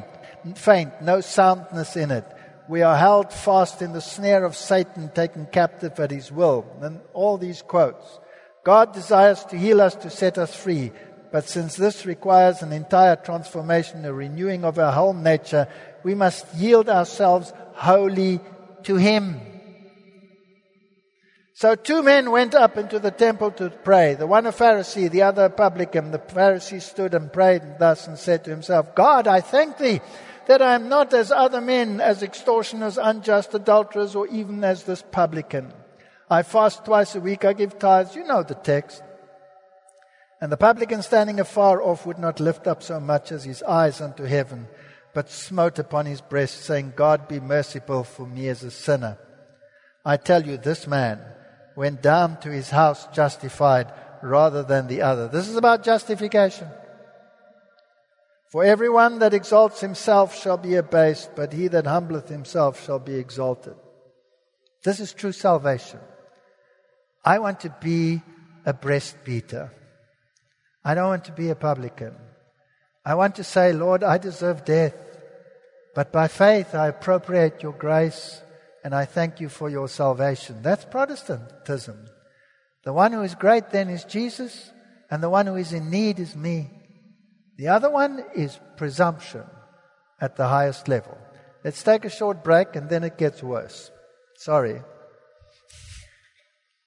No soundness in it. We are held fast in the snare of Satan, taken captive at his will. And all these quotes. God desires to heal us, to set us free. But since this requires an entire transformation, a renewing of our whole nature, we must yield ourselves wholly to Him. So 2 men went up into the temple to pray, the one a Pharisee, the other a publican. The Pharisee stood and prayed thus and said to himself, God, I thank thee that I am not as other men, as extortioners, unjust, adulterers, or even as this publican. I fast twice a week, I give tithes. You know the text. And the publican standing afar off would not lift up so much as his eyes unto heaven, but smote upon his breast, saying, God, be merciful for me as a sinner. I tell you, this man went down to his house justified rather than the other. This is about justification. For everyone that exalts himself shall be abased, but he that humbleth himself shall be exalted. This is true salvation. I want to be a breastbeater. I don't want to be a publican. I want to say, Lord, I deserve death, but by faith I appropriate your grace and I thank you for your salvation. That's Protestantism. The one who is great then is Jesus, and the one who is in need is me. The other one is presumption at the highest level. Let's take a short break and then it gets worse. Sorry.